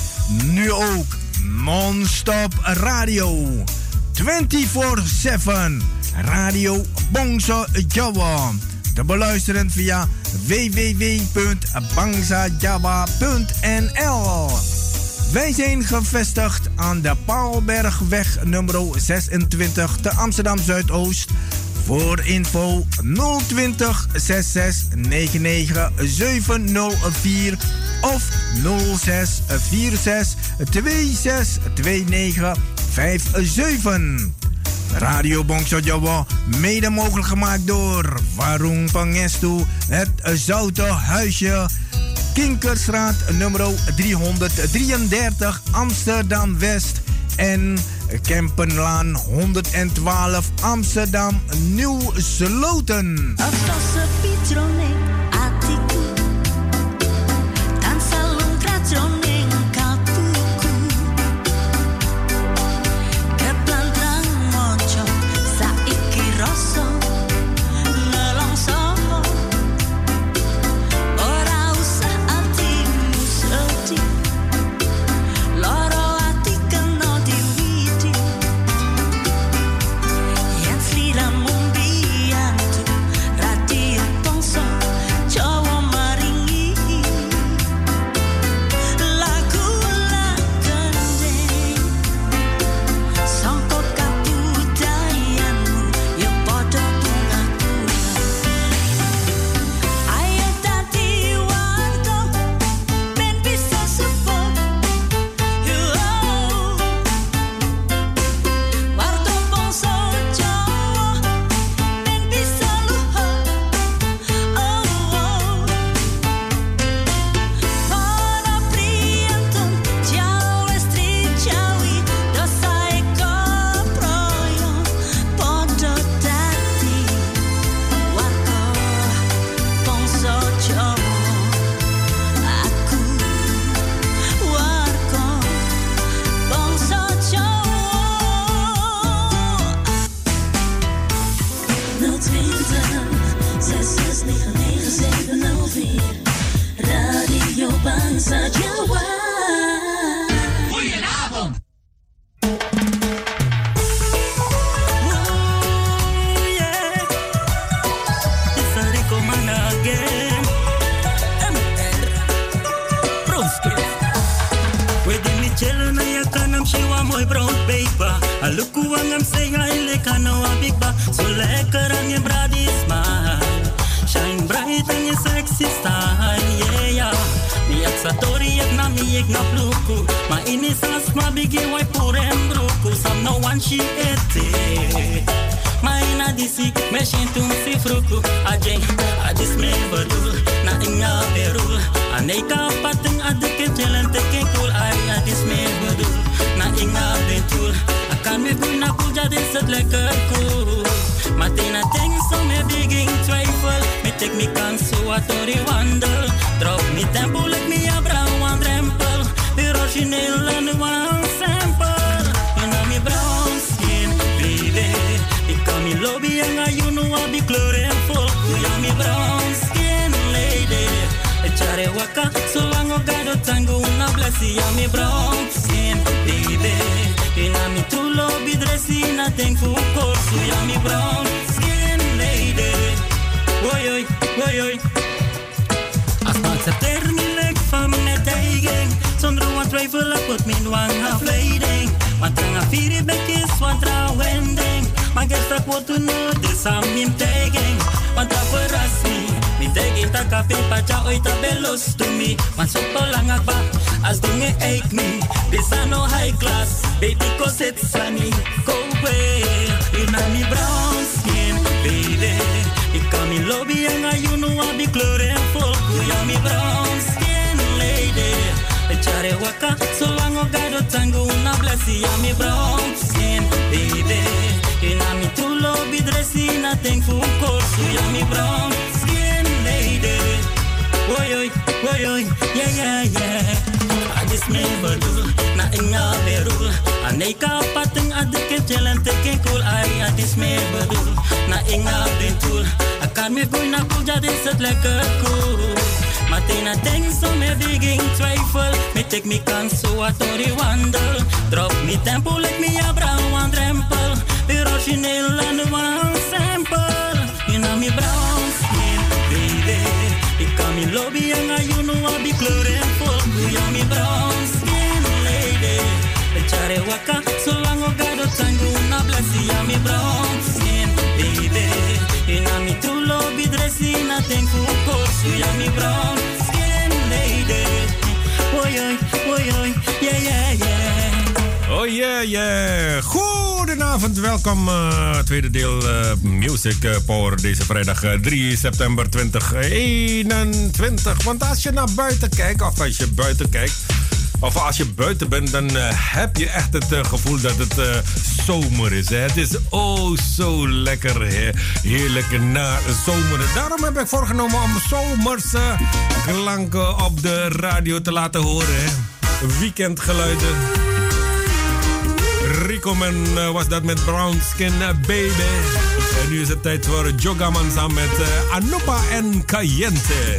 Nu ook non-stop radio. vierentwintig zeven. Radio Bangsa Jawa. Te beluisteren via w w w punt bangsa jawa punt n l. Wij zijn gevestigd aan de Paalbergweg nummer zesentwintig te Amsterdam Zuidoost. Voor info nul twintig zesenzestig negenennegentig zevenhonderdvier of nul zes vier zes twee zes twee negen vijf zeven. Radio Bangsa Jawa, mede mogelijk gemaakt door Warung Pangestu, het Zoute Huisje, Kinkersstraat nummer driehonderddrieëndertig Amsterdam West en Kempenlaan honderdtwaalf Amsterdam Nieuw Sloten. Oi, oi, yeah, yeah, yeah. I just never do nothing Aneka pateng adek jalan teken cool ai adis me bedoel. Na inga bentul. Akan me gooi na cool jadi set lekker cool. Matina denk so me begin twijfel. Me take me kans so wat ori wandel. Drop me tempo like me a brown drempel. Weer origineel en de one sample. In a me brown skin, baby. Ik kan me lobby en ga you know I be kleurvol. You are me brown skin lady. Echare waka, so lang o gado tango na blessie. You are me brown skin, baby. In a me true lobby dressing, I think for course. You are me brown skin lady. Oi oi, oi oi, yeah yeah yeah. Oh yeah yeah. Goedenavond, welkom. Uh, tweede deel uh, Music uh, Power deze vrijdag uh, drie september tweeduizend eenentwintig. Want als je naar buiten kijkt, of als je buiten kijkt, of als je buiten bent, dan uh, heb je echt het uh, gevoel dat het uh, zomer is. Hè? Het is oh zo lekker, hè? Heerlijk na zomer. Daarom heb ik voorgenomen om zomerse klanken op de radio te laten horen. Hè? Weekendgeluiden. Rico Man uh, was dat met Brown Skin uh, Baby. En nu is het tijd voor Jogaman samen met uh, Anupa en Cayente.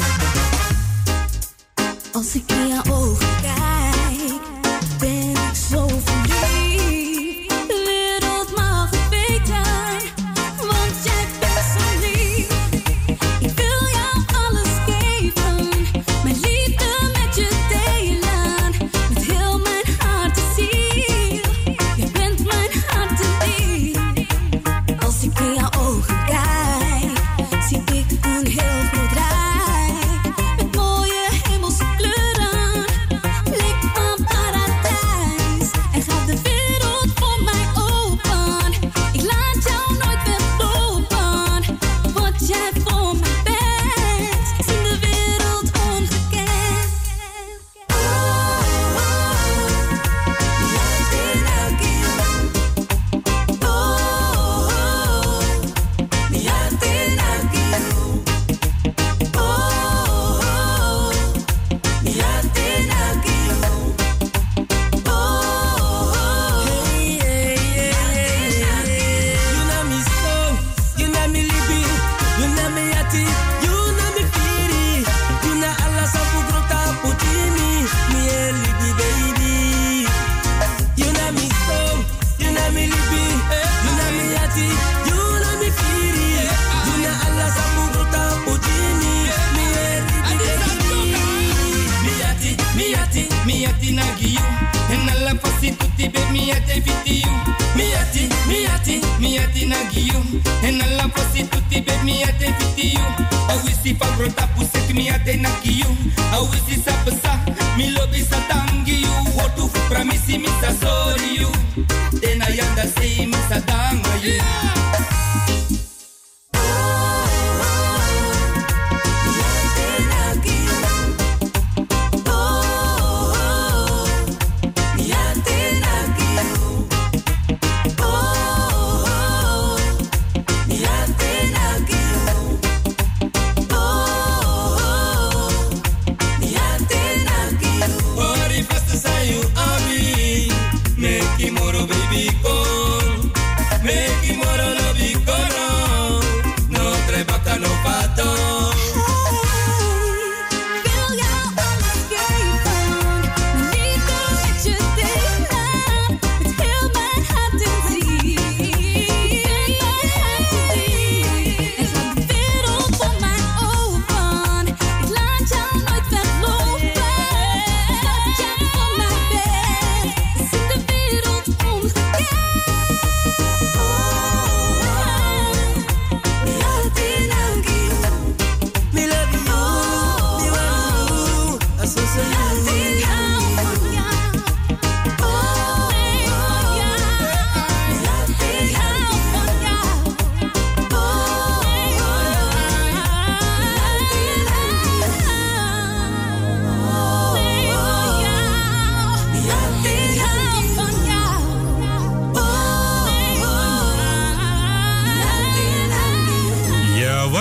Als ik in jouw ogen kijk, ben ik zo verliefd. De wereld mag een zijn, want jij bent zo lief. Ik wil jou alles geven, mijn liefde met je delen. Met heel mijn hart en ziel, jij bent mijn hart en ziel. Als ik in jouw ogen kijk, zie ik een heel groot rijk. Met mooie hemelse kleuren, lijkt een paradijs. En gaat de wereld voor mij open. Ik laat jou nooit weglopen. Wat jij voor mij bent, is in de wereld ongekend. Oh, oh, ja, dit elke keer. Oh, oh, ja, dit elke keer. Oh, oh, ja, dit elke keer. Oh, oh, hey, hey, hey, hey. You know me so, you know me libi, you know me yati, you know me firi, you know Allah sabu grota putini, me e libi baby. You know me so, you know me libi, you know me yati, you know me firi, you know Allah sabu grota putini, me e libi baby. Me yati, me yati, me yati nagi you, and Allah fasi tutti be me yati fiti you. Me yati, me yati, me yati nagi you, and Allah fasi tutti be me yati fiti you. I wish if I brought up pusek me yati nagi you. I wish if I pesa, me lobby sa tangi you. What to promise me sa sorry you. Then I am say me sa danga you. Ori fast say you abi, make him more baby call, make him more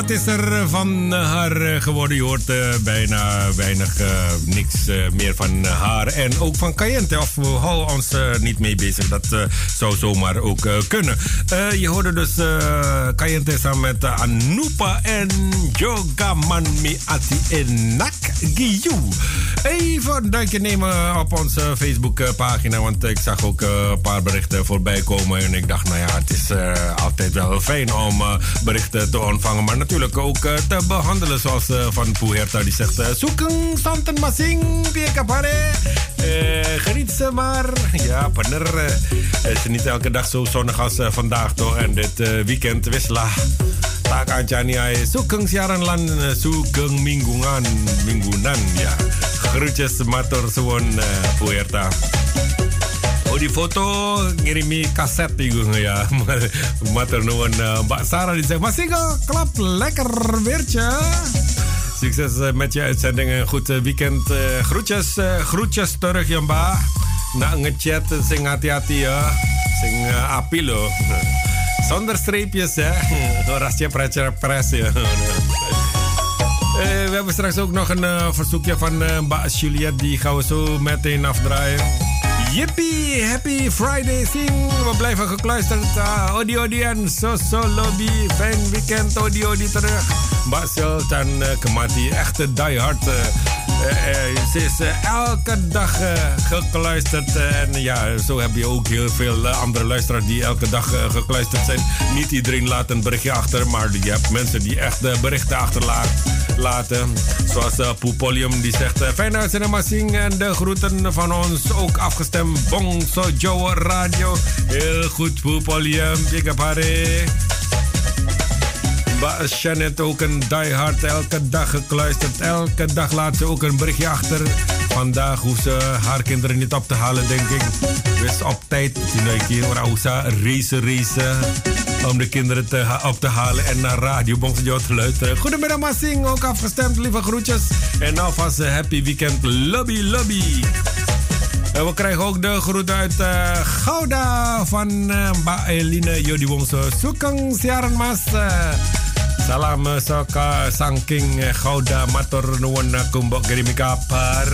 Wat is er van haar geworden? Je hoort uh, bijna weinig, uh, niks uh, meer van haar. En ook van Cayente. Of we houden ons uh, niet mee bezig. Dat uh, zou zomaar ook uh, kunnen. Uh, je hoorde dus uh, Cayente samen met uh, Anupa en Jogaman Mi Ati Enak Giyu. Even een duikje nemen op onze Facebookpagina. Want ik zag ook uh, een paar berichten voorbij komen. En ik dacht, nou ja, het is uh, altijd wel fijn om uh, berichten te ontvangen. Maar natuurlijk ook uh, te behandelen. Zoals uh, van Puerta die zegt... Uh, Zoeken, santen masing, piekapare. Uh, geniet ze maar. Ja, bener. Uh, het is niet elke dag zo zonnig als uh, vandaag toch. En dit uh, weekend wisla. Tak ancani ay sugeng siaran lan uh, sugeng mingguan minggunan. Ja, groetjes matur suwun uh, Puerta. Oh, die foto ngirimi kaset itu ya. Matur nuwun uh, Mbak Sarah die zegt, Masiko, klap lekker weertje. Succes uh, met je uitzending en goed uh, weekend. Uh, groetjes, uh, groetjes terug ya Mbak. Nak ngechat sing hati-hati ya. Sing uh, api loh. Zonder streepjes hè. Rasje pres ya. Uh, we hebben straks ook nog een uh, verzoekje van uh, Mbak Juliette. Die gaan we zo meteen afdraaien. Yippie, happy Friday sing. We blijven gekluisterd. Uh, odi odi en so so lobby. Fijn weekend odi odi terug. Mbak Sultan uh, Kemati, echte diehard. Uh, uh, uh, ze is uh, elke dag uh, gekluisterd. Uh, en ja, zo heb je ook heel veel uh, andere luisteraars die elke dag uh, gekluisterd zijn. Niet iedereen laat een berichtje achter, maar je hebt mensen die echt uh, berichten achterlaten. Zoals uh, Poepolium die zegt, uh, fijne uitzending Masing. En de groeten van ons ook afgestemd. Bongso Joe Radio. Heel goed Poepolium. Big up Harry. Mbak Shannon ook een diehard, elke dag gekluisterd. Elke dag laat ze ook een berichtje achter. Vandaag hoeft ze haar kinderen niet op te halen, denk ik. Dus op tijd, die Rausa, racen, racen. Om de kinderen te ha- op te halen en naar Radio Bongso te luisteren. Goedemiddag Masing, ook afgestemd, lieve groetjes. En alvast een happy weekend, lobby, lobby. En we krijgen ook de groeten uit uh, Gouda van uh, Mbak Eline Jodi Wongso. Sukeng siaran mas. Uh, salam uh, soka sangking uh, Gouda matur nuwun kumbok kirimi kabar.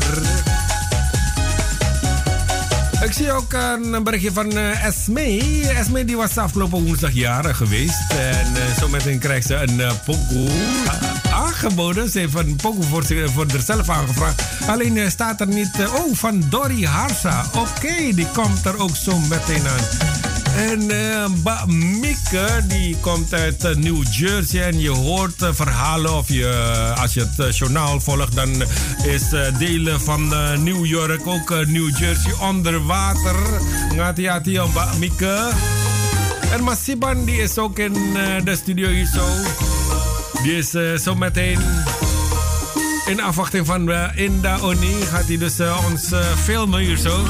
Ik zie ook een berichtje van uh, Esme. Esme die was afgelopen woensdag jarig geweest. En uh, zometeen krijgt ze een uh, pokoe uh, aangeboden. Ze heeft een pokoe voor, voor zichzelf aangevraagd. Alleen uh, staat er niet... Uh, oh, van Dori Harsa. Oké, okay, die komt er ook zo meteen aan. En uh, Mbak Mieke, die komt uit uh, New Jersey. En je hoort uh, verhalen of je, uh, als je het uh, journaal volgt, dan is uh, delen van uh, New York, ook uh, New Jersey onder water. Ngati-hati Mbak Mieke. En Masiban, die is ook in uh, de studio hier zo. Die is uh, zo meteen in afwachting van uh, Inda Oni. Gaat hij dus uh, ons uh, filmen hier zo.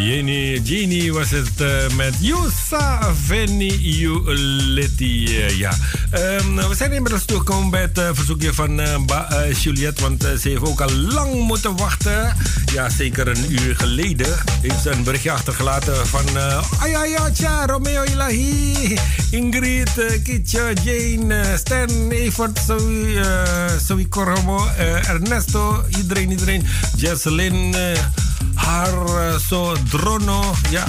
Jenny, Jenny was het uh, met Yusa Veni Uleti. Uh, ja. Um, we zijn inmiddels toegekomen bij het uh, verzoekje van uh, ba, uh, Juliette, want uh, ze heeft ook al lang moeten wachten. Ja, zeker een uur geleden heeft ze een berichtje achtergelaten van uh, Ayaya, Tja, Romeo Ilahi, Ingrid, uh, Kitja, Jane, uh, Stan, Evert, Zoe, uh, Zoe Corromo, uh, Ernesto, iedereen, iedereen, Jesselyn, uh, haar uh, zo Drono, ja.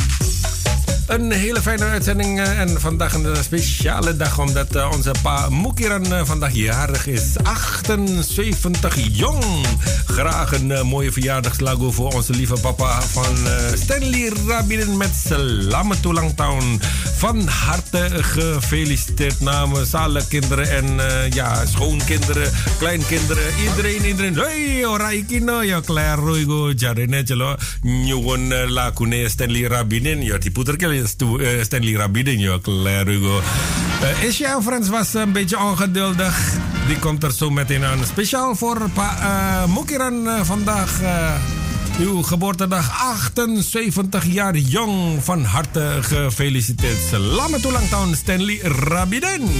Een hele fijne uitzending uh, en vandaag een speciale dag omdat uh, onze pa Mukiran uh, vandaag jarig is. achtenzeventig jong. Graag een uh, mooie verjaardagslago voor onze lieve papa van uh, Stanley Rabin met Selamat Ulang Tahun. Van harte gefeliciteerd namens alle kinderen en uh, ja, schoonkinderen, kleinkinderen, iedereen, iedereen. Hey, ora ikino ya klaro igo jarene chelo nyuwun lakune Stanley Rabin ya diputerke Stanley Rabin ya klaro igo. Asia Friends was een beetje ongeduldig. Die komt er zo meteen aan. Speciaal voor pa uh, Mukiran uh, vandaag. Uh, Uw geboortedag, achtenzeventig jaar jong. Van harte gefeliciteerd. Selamat ulang tahun Stanley Rabiden.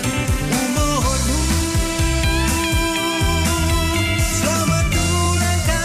Selamat ulang tahun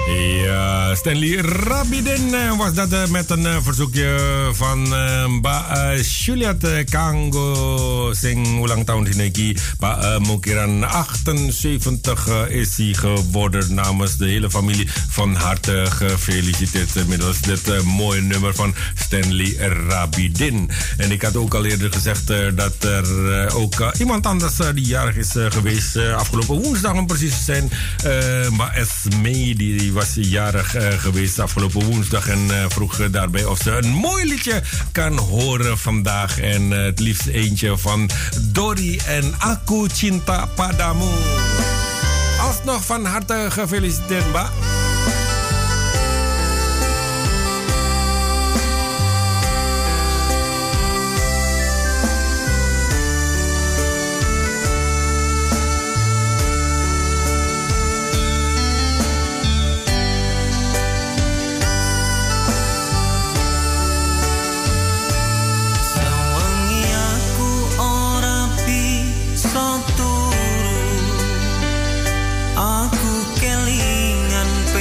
Ja, Stanley Rabidin was dat uh, met een uh, verzoekje van uh, Mbak uh, Juliet uh, Kanggo sing ulang tahun dineki. Pak uh, Mokiran achtenzeventig uh, is hij geworden. Namens de hele familie van harte gefeliciteerd uh, middels dit uh, mooie nummer van Stanley Rabidin. En ik had ook al eerder gezegd uh, dat er uh, ook uh, iemand anders uh, die jarig is uh, geweest uh, afgelopen woensdag om precies te zijn. Uh, maar Esme die was jarig uh, geweest afgelopen woensdag en uh, vroeg uh, daarbij of ze een mooi liedje kan horen vandaag. En uh, het liefst eentje van Dori en Aku Cinta Padamu. Alsnog van harte gefeliciteerd, Mbak. Aku kelingan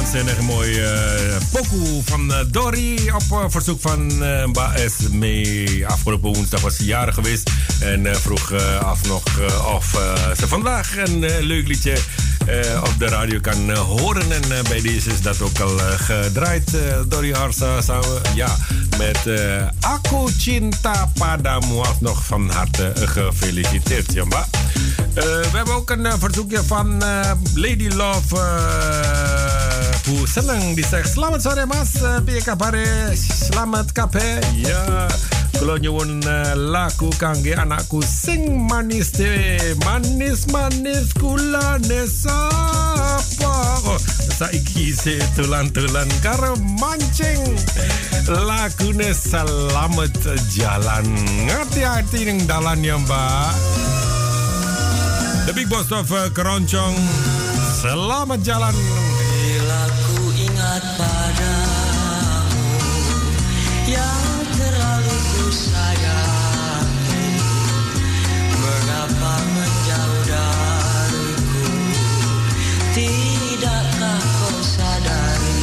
waanzinnig mooi uh, pokoe van uh, Dory op uh, verzoek van uh, Mba Esme. Afgelopen woensdag was ze jarig geweest en uh, vroeg uh, alsnog uh, of uh, ze vandaag een uh, leuk liedje uh, op de radio kan uh, horen. En uh, bij deze is dat ook al uh, gedraaid. Uh, Dory Harsa samen, ja, met uh, Aku Cinta Padamu. Alsnog van harte uh, gefeliciteerd, Jamba. Uh, we hebben ook een uh, verzoekje van uh, Lady Love. Uh, Hoe senang die zegt selamat sore mas, uh, piye kabare? Selamat kabeh. Ya, kula nyuwun uh, lagu kangge anakku sing manis dewe. Manis-manis kulane sapa. Oh, saiki se tulan-tulan karo mancing. Lagune Selamat Jalan. Hati-hati ning dalan ya, Mbak. The Big Boss of uh, Keroncong, Selamat Jalan. Bila ku ingat padamu yang terlalu ku sayangi, mengapa menjauh dariku? Tidakkah kau sadari,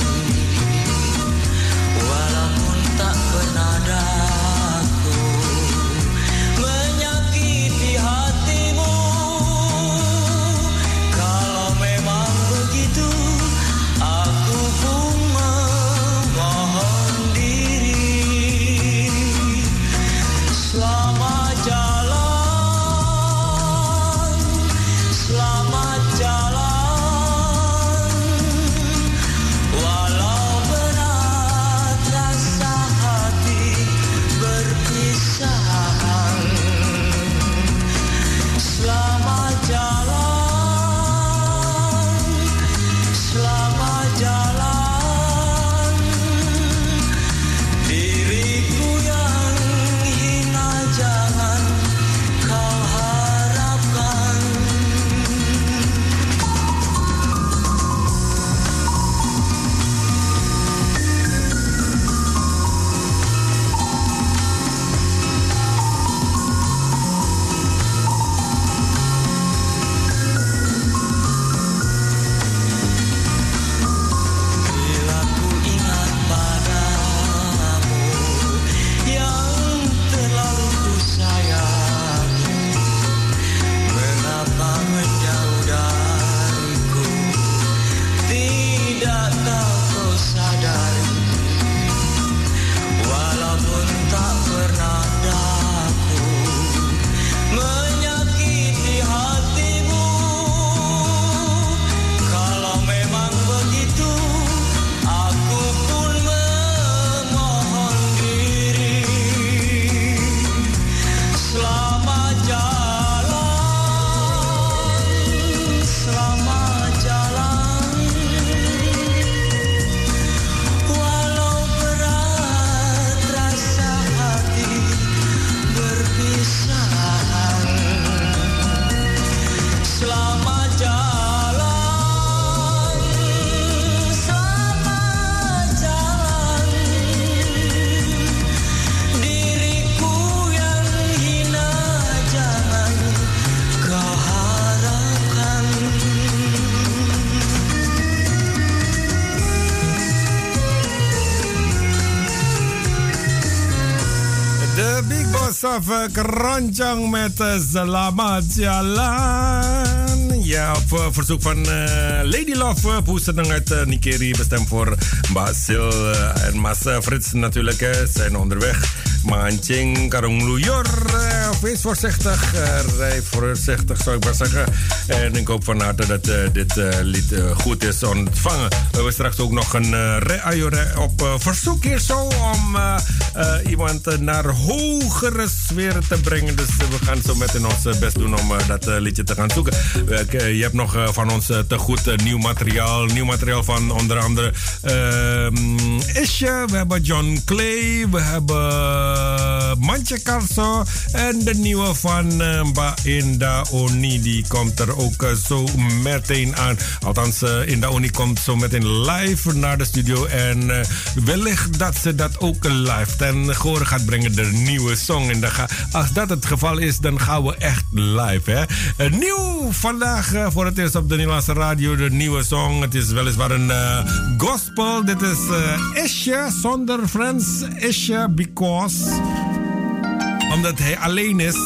walaupun tak pernah daku menyakiti hatimu. Kalau memang begitu, aku pun memohon diri. Selamat jalan, selamat jalan. Walau berat rasa hati berpisahan, selamat jalan, selamat jalan. Diriku yang hina jangan kau harapkan. Bila ku ingat padamu yang terlalu ku sayangi, mengapa menjauh dariku? Tidakkah kau sadari, walaupun tak pernah daku menyakiti hatimu. Kalau memang begitu, aku pun memohon diri. Selamat jalan, selamat jalan. Walau berat rasa hati berpisahan, selamat jalan, selamat jalan. Diriku yang hina jangan kau harapkan. The Big Boss of uh, Keroncong met uh, Selamat Jalan. Ja, op uh, verzoek van uh, Lady Love, uh, Poeseneng uit uh, Nikeri, bestemd voor Mbak Sil uh, en Mas uh, Frits natuurlijk. Uh, zijn onderweg. Mancing, karong lujur. Uh, wees voorzichtig. Uh, rij voorzichtig, zou ik maar zeggen. En ik hoop van harte dat uh, dit uh, lied uh, goed is ontvangen. We hebben straks ook nog een uh, re-ajore op uh, verzoek hier zo om uh, uh, iemand uh, naar hogere sferen te brengen. Dus uh, we gaan zo meteen ons uh, best doen om uh, dat uh, liedje te gaan zoeken. Uh, je hebt nog uh, van ons uh, te goed uh, nieuw materiaal. Nieuw materiaal van onder andere uh, Isje. We hebben John Clay. We hebben uh, Mantje Carso. En de nieuwe van uh, Mba Inda Oni. Die komt er ook uh, zo meteen aan. Althans, uh, Inda Oni komt zo meteen live naar de studio. En uh, wellicht dat ze dat ook live ten gehore gaat brengen. De nieuwe song. En dan ga, als dat het geval is, dan gaan we echt live. Hè? Uh, nieuw vandaag uh, voor het eerst op de Nederlandse radio. De nieuwe song. Het is weliswaar een uh, gospel. Dit is uh, Isje zonder Friends. Isje because. Omdat hij alleen is.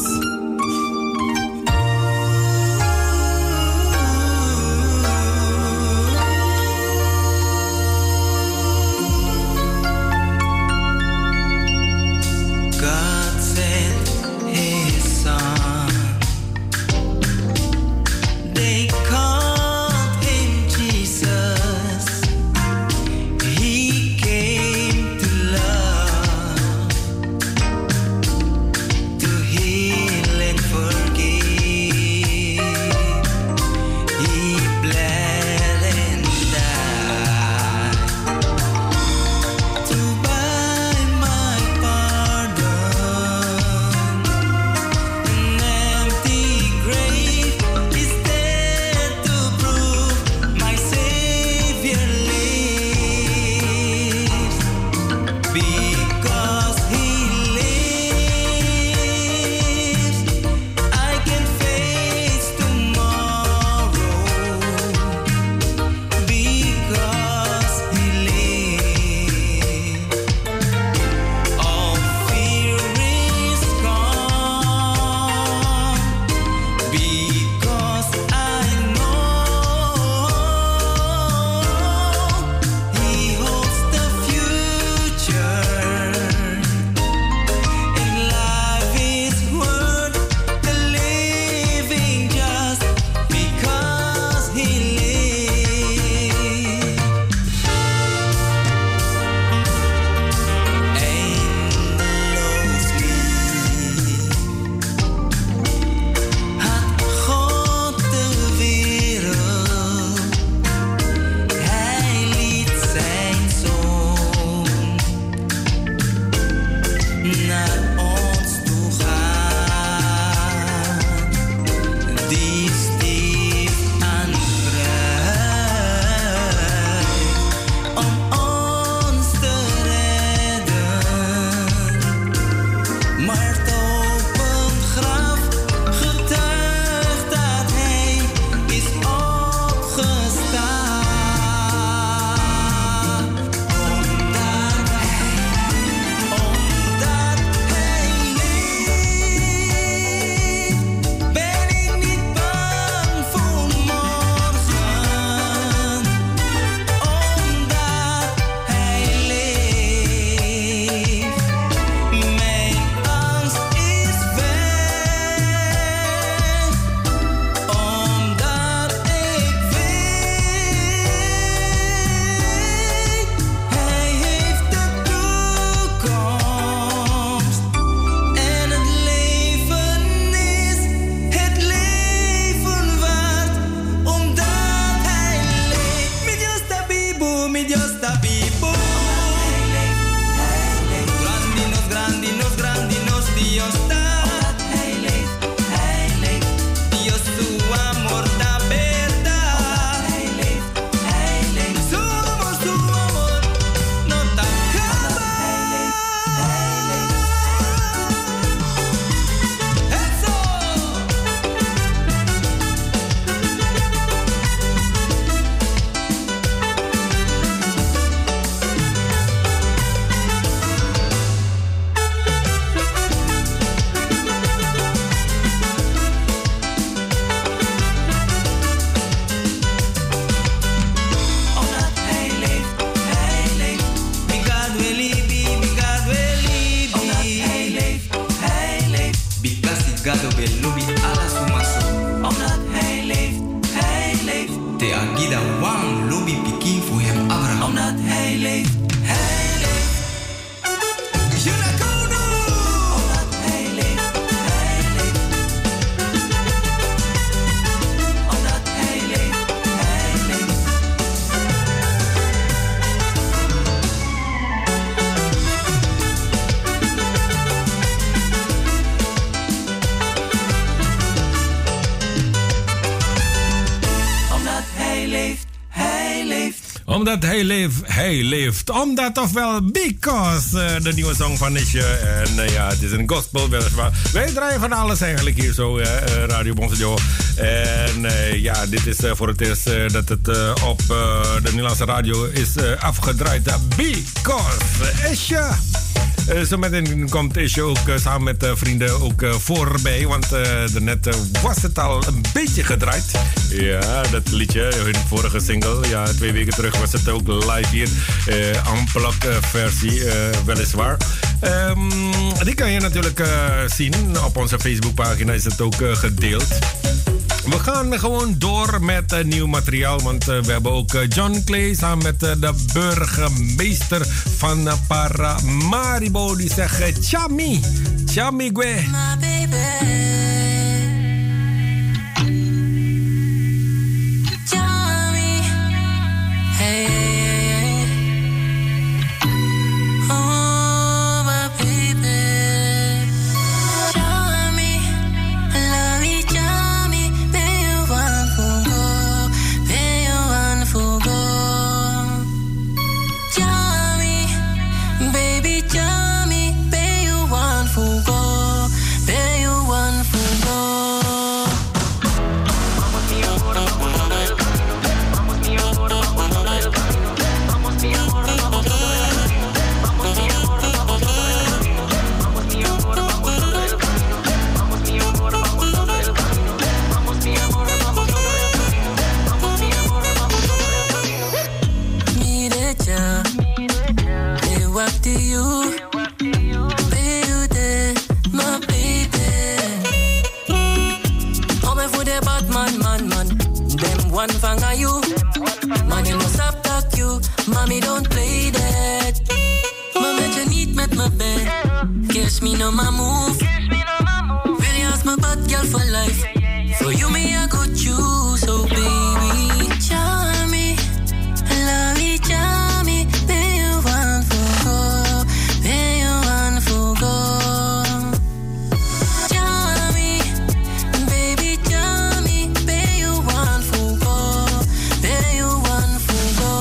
Omdat hij leeft, hij leeft. Omdat ofwel because, uh, de nieuwe song van Nisje. En uh, ja, het is een gospel weliswaar. Wij draaien van alles eigenlijk hier zo, uh, Radio Bongso. En uh, ja, dit is uh, voor het eerst uh, dat het uh, op uh, de Nederlandse radio is uh, afgedraaid. Uh, because, Isje. Uh, zo meteen komt Isje ook uh, samen met uh, vrienden ook uh, voorbij. Want uh, daarnet uh, was het al een beetje gedraaid. Ja, dat liedje, hun vorige single. Ja, twee weken terug was het ook live hier. Uh, Unplugged uh, versie, uh, weliswaar. Um, die kan je natuurlijk uh, zien. Op onze Facebookpagina is het ook uh, gedeeld. We gaan gewoon door met uh, nieuw materiaal. Want uh, we hebben ook uh, John Clay samen met uh, de burgemeester van uh, Paramaribo. Die zegt uh, Chami. Chami Gue. My baby. Chami. Hey, hey, hey. Oh, my baby. Chami. Love you, Chami. Ben je one for go? Ben je one for go? Chami. Baby, Chami. Ben je one for go? Ben je one for go? Mire ya, me walk to you, baby, my baby. Come for the bad man, man, man. Them one fang are you, man, you must have talk you. Mommy, don't play that. Mama, you need met my bed. Kiss me, no my move. Will you ask my bad girl for life? For you, me, I got you, so baby. Charmy, love you, charmy. Be you one for go, be you one for go. Charmy, baby, charmy. Be you one for go, be you one for go.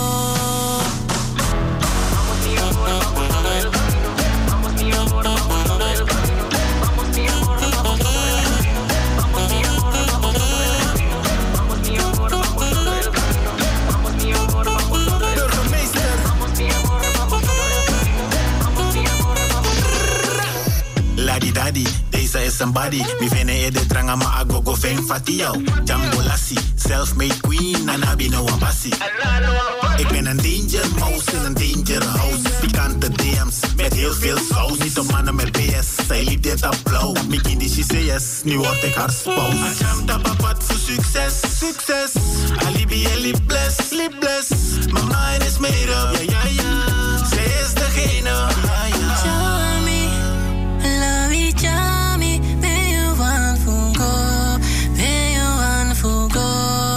Ladi dadi, deze is een body. Mi vene e de dranga ma agogo ven fati jou. Jambo lassie, self-made queen, anabi no wabassi. Ik ben een danger mouse in een danger house. Pikante D M's met heel veel saus. Niet op mannen met B S, zij liep dit applaus. Mi kindi she say yes, nu word ik haar spouse. Ajam tapapat voor succes, succes. Alibi en lip bless, lip bless. My mind is made up, ja ja ja. Zij is degene, ja ja. Charmy, love you, charmy. Be you one for go, be you one for go.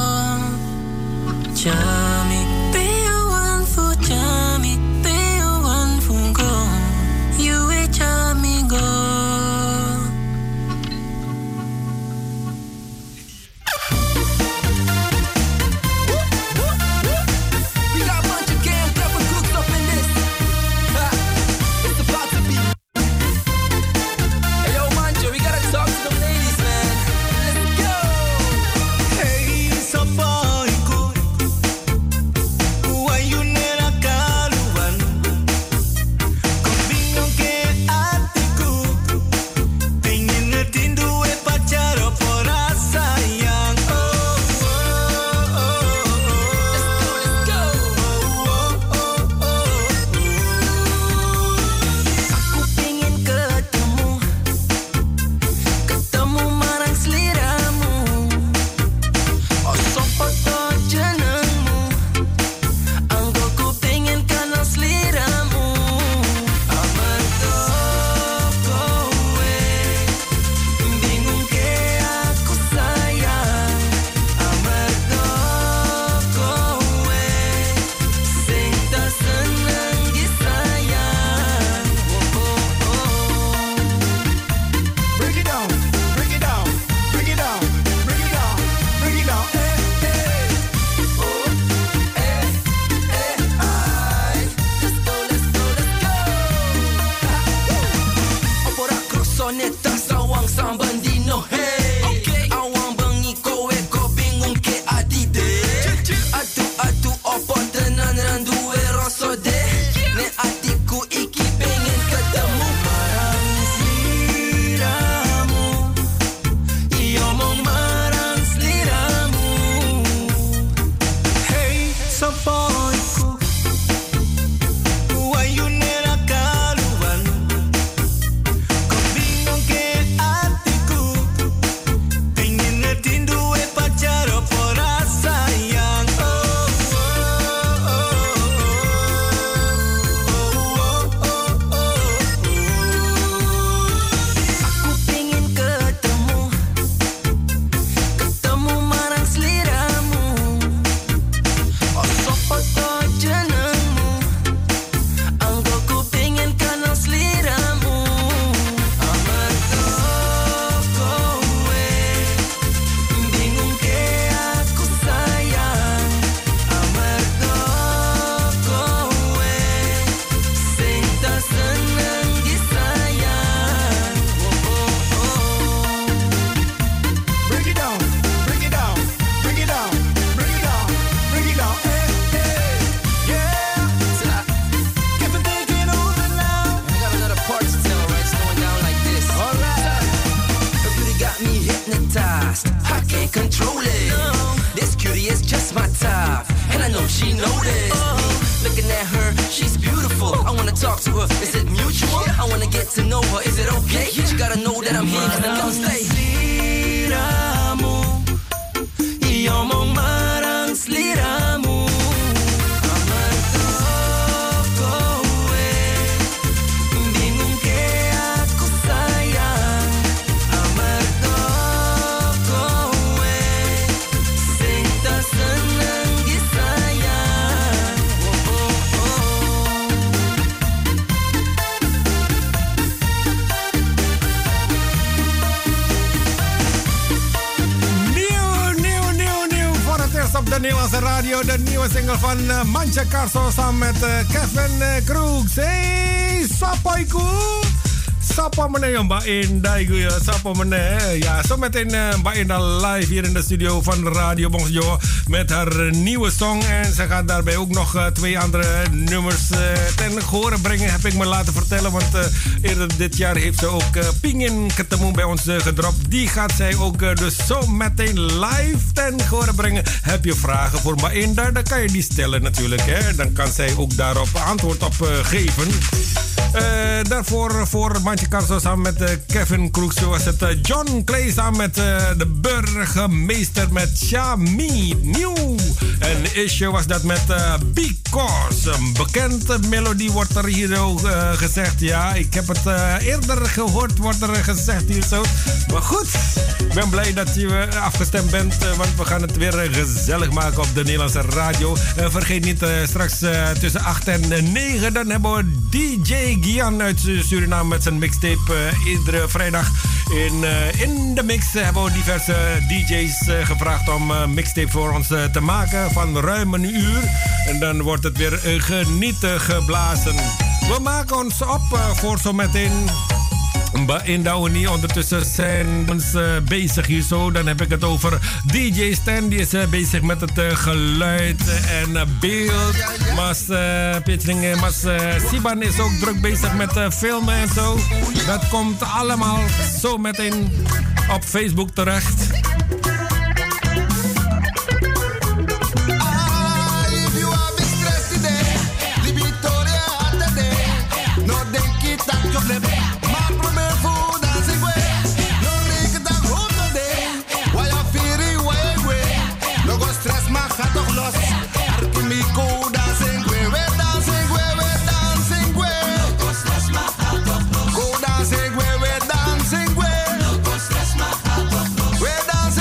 Charmy, be you one for charmy, be you one for go. You a charmy go. she noticed me. Looking at her, she's beautiful. I wanna talk to her, is it mutual? I wanna get to know her, is it okay? She gotta know that I'm here, cause I'm gonna stay. Sliramu, yomong marang sliramu. Op de Nederlandse radio, de nieuwe single van uh, Mantje Carso samen met uh, Kevin uh, Crooks. Hey, sapoiku! Sapa meneer Mbak Indah, ya. Sapa meneer. Ja, zometeen uh, Mbak Indah live hier in de studio van Radio Bongso met haar nieuwe song. En ze gaat daarbij ook nog uh, twee andere nummers uh, ten gehore brengen, heb ik me laten vertellen. Want uh, eerder dit jaar heeft ze ook uh, Pingin Ketemu bij ons uh, gedropt. Die gaat zij ook uh, dus zo meteen live ten gehore brengen. Heb je vragen voor Mbak Indah, dan kan je die stellen natuurlijk. Hè? Dan kan zij ook daarop antwoord op uh, geven. Uh, daarvoor voor Mantje Carso samen met uh, Kevin Crooks was het uh, John Clay samen met uh, de burgemeester met Shami Nieuw. En Isje was dat met uh, Because. Een bekende melodie wordt er hier ook uh, gezegd. Ja, ik heb het uh, eerder gehoord, wordt er gezegd hier zo. Maar goed, ik ben blij dat je uh, afgestemd bent, uh, want we gaan het weer uh, gezellig maken op de Nederlandse radio. Uh, vergeet niet, uh, straks uh, tussen acht en negen, dan hebben we D J Gian uit Suriname met zijn mixtape. Uh, iedere vrijdag in, uh, in de mix hebben we diverse D J's uh, gevraagd om uh, mixtape voor ons uh, te maken van ruim een uur. En dan wordt het weer uh, genieten geblazen. We maken ons op uh, voor zometeen. In Douwenie ondertussen zijn we uh, bezig hier zo. Dan heb ik het over D J Stan. Die is uh, bezig met het uh, geluid en uh, beeld. Mas uh, Pietring, Mas uh, Siban is ook druk bezig met uh, filmen en zo. Dat komt allemaal zo meteen op Facebook terecht. Dancing, we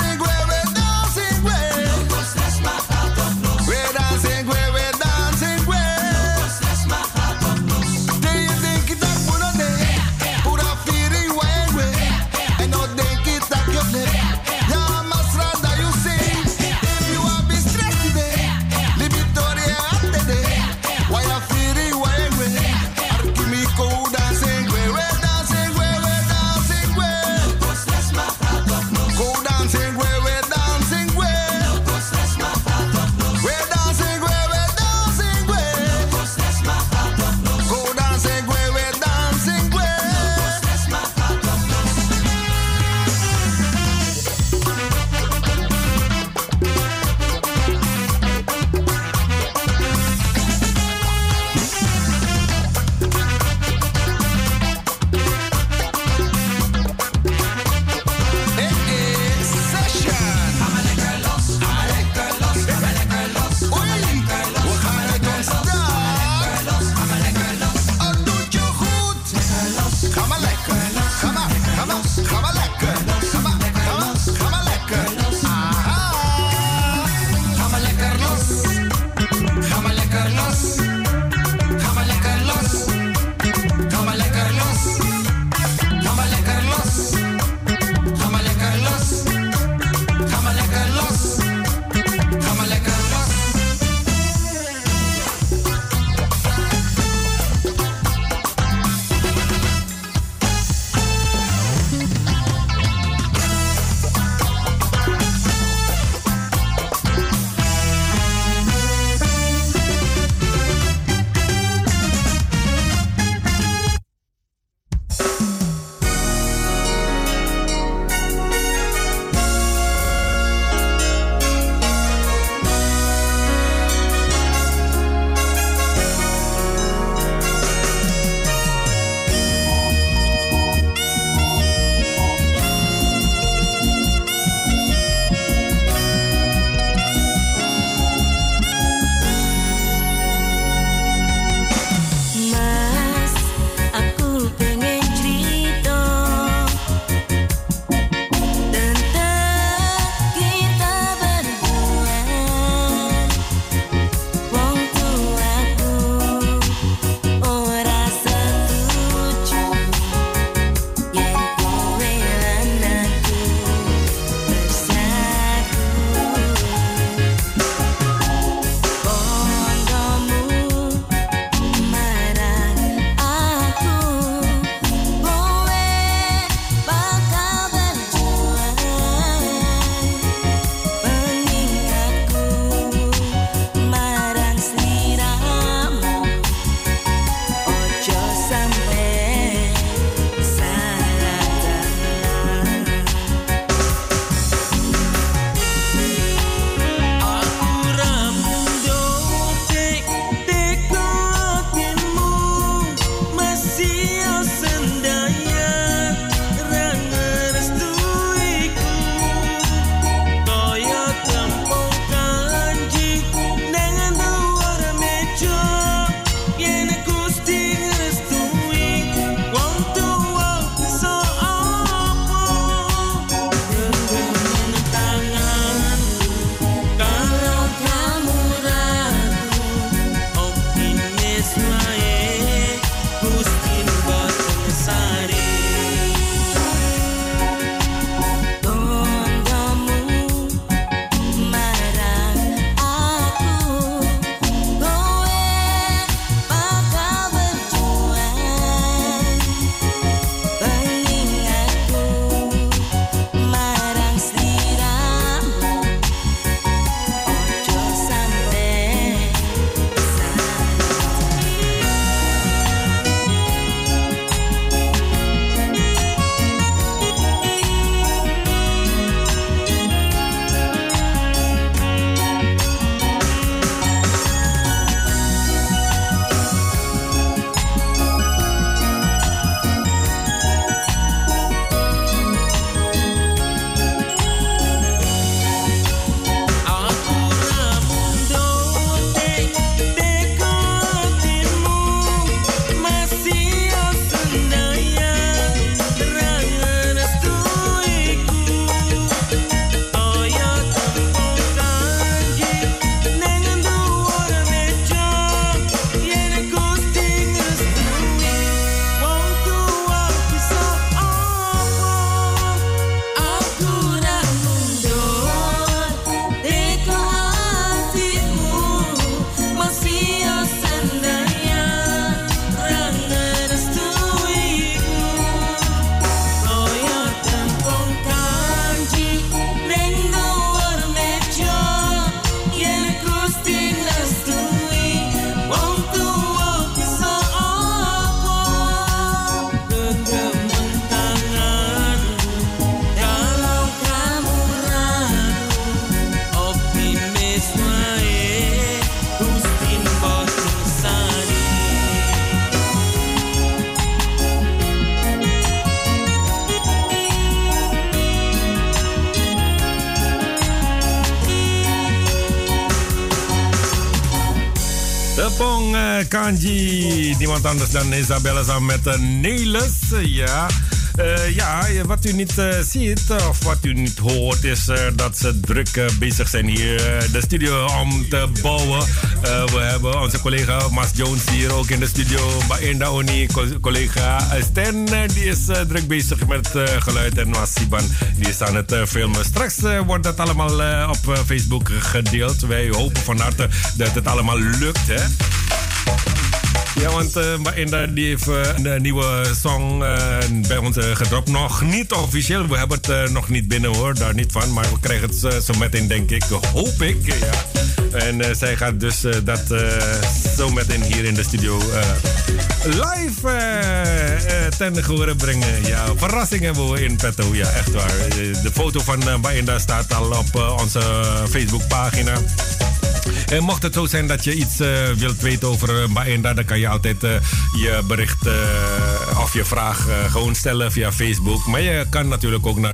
Bong uh, Kanji. Niemand anders dan Isabella samen met uh, Nelis. ja. Uh, ja, wat u niet uh, ziet of wat u niet hoort is uh, dat ze druk uh, bezig zijn hier uh, de studio om te bouwen. Uh, we hebben onze collega Mas Jones hier ook in de studio. Baenda Oni, collega Stan, uh, die is uh, druk bezig met uh, geluid. En Mas Siban, die is aan het uh, filmen. Straks uh, wordt dat allemaal uh, op uh, Facebook gedeeld. Wij hopen van harte dat het allemaal lukt, hè. Ja, want uh, Baenda die heeft uh, een nieuwe song uh, bij ons uh, gedropt. Nog niet officieel, we hebben het uh, nog niet binnen hoor, daar niet van. Maar we krijgen het uh, zo meteen, denk ik, hoop ik. Ja. En uh, zij gaat dus uh, dat uh, zo meteen hier in de studio uh, live uh, uh, ten gehore brengen. Ja, verrassing hebben we in petto, ja, echt waar. De foto van uh, Baenda staat al op uh, onze Facebookpagina. En mocht het zo zijn dat je iets uh, wilt weten over uh, Baenda, dan kan je altijd uh, je bericht uh, of je vraag uh, gewoon stellen via Facebook. Maar je kan natuurlijk ook naar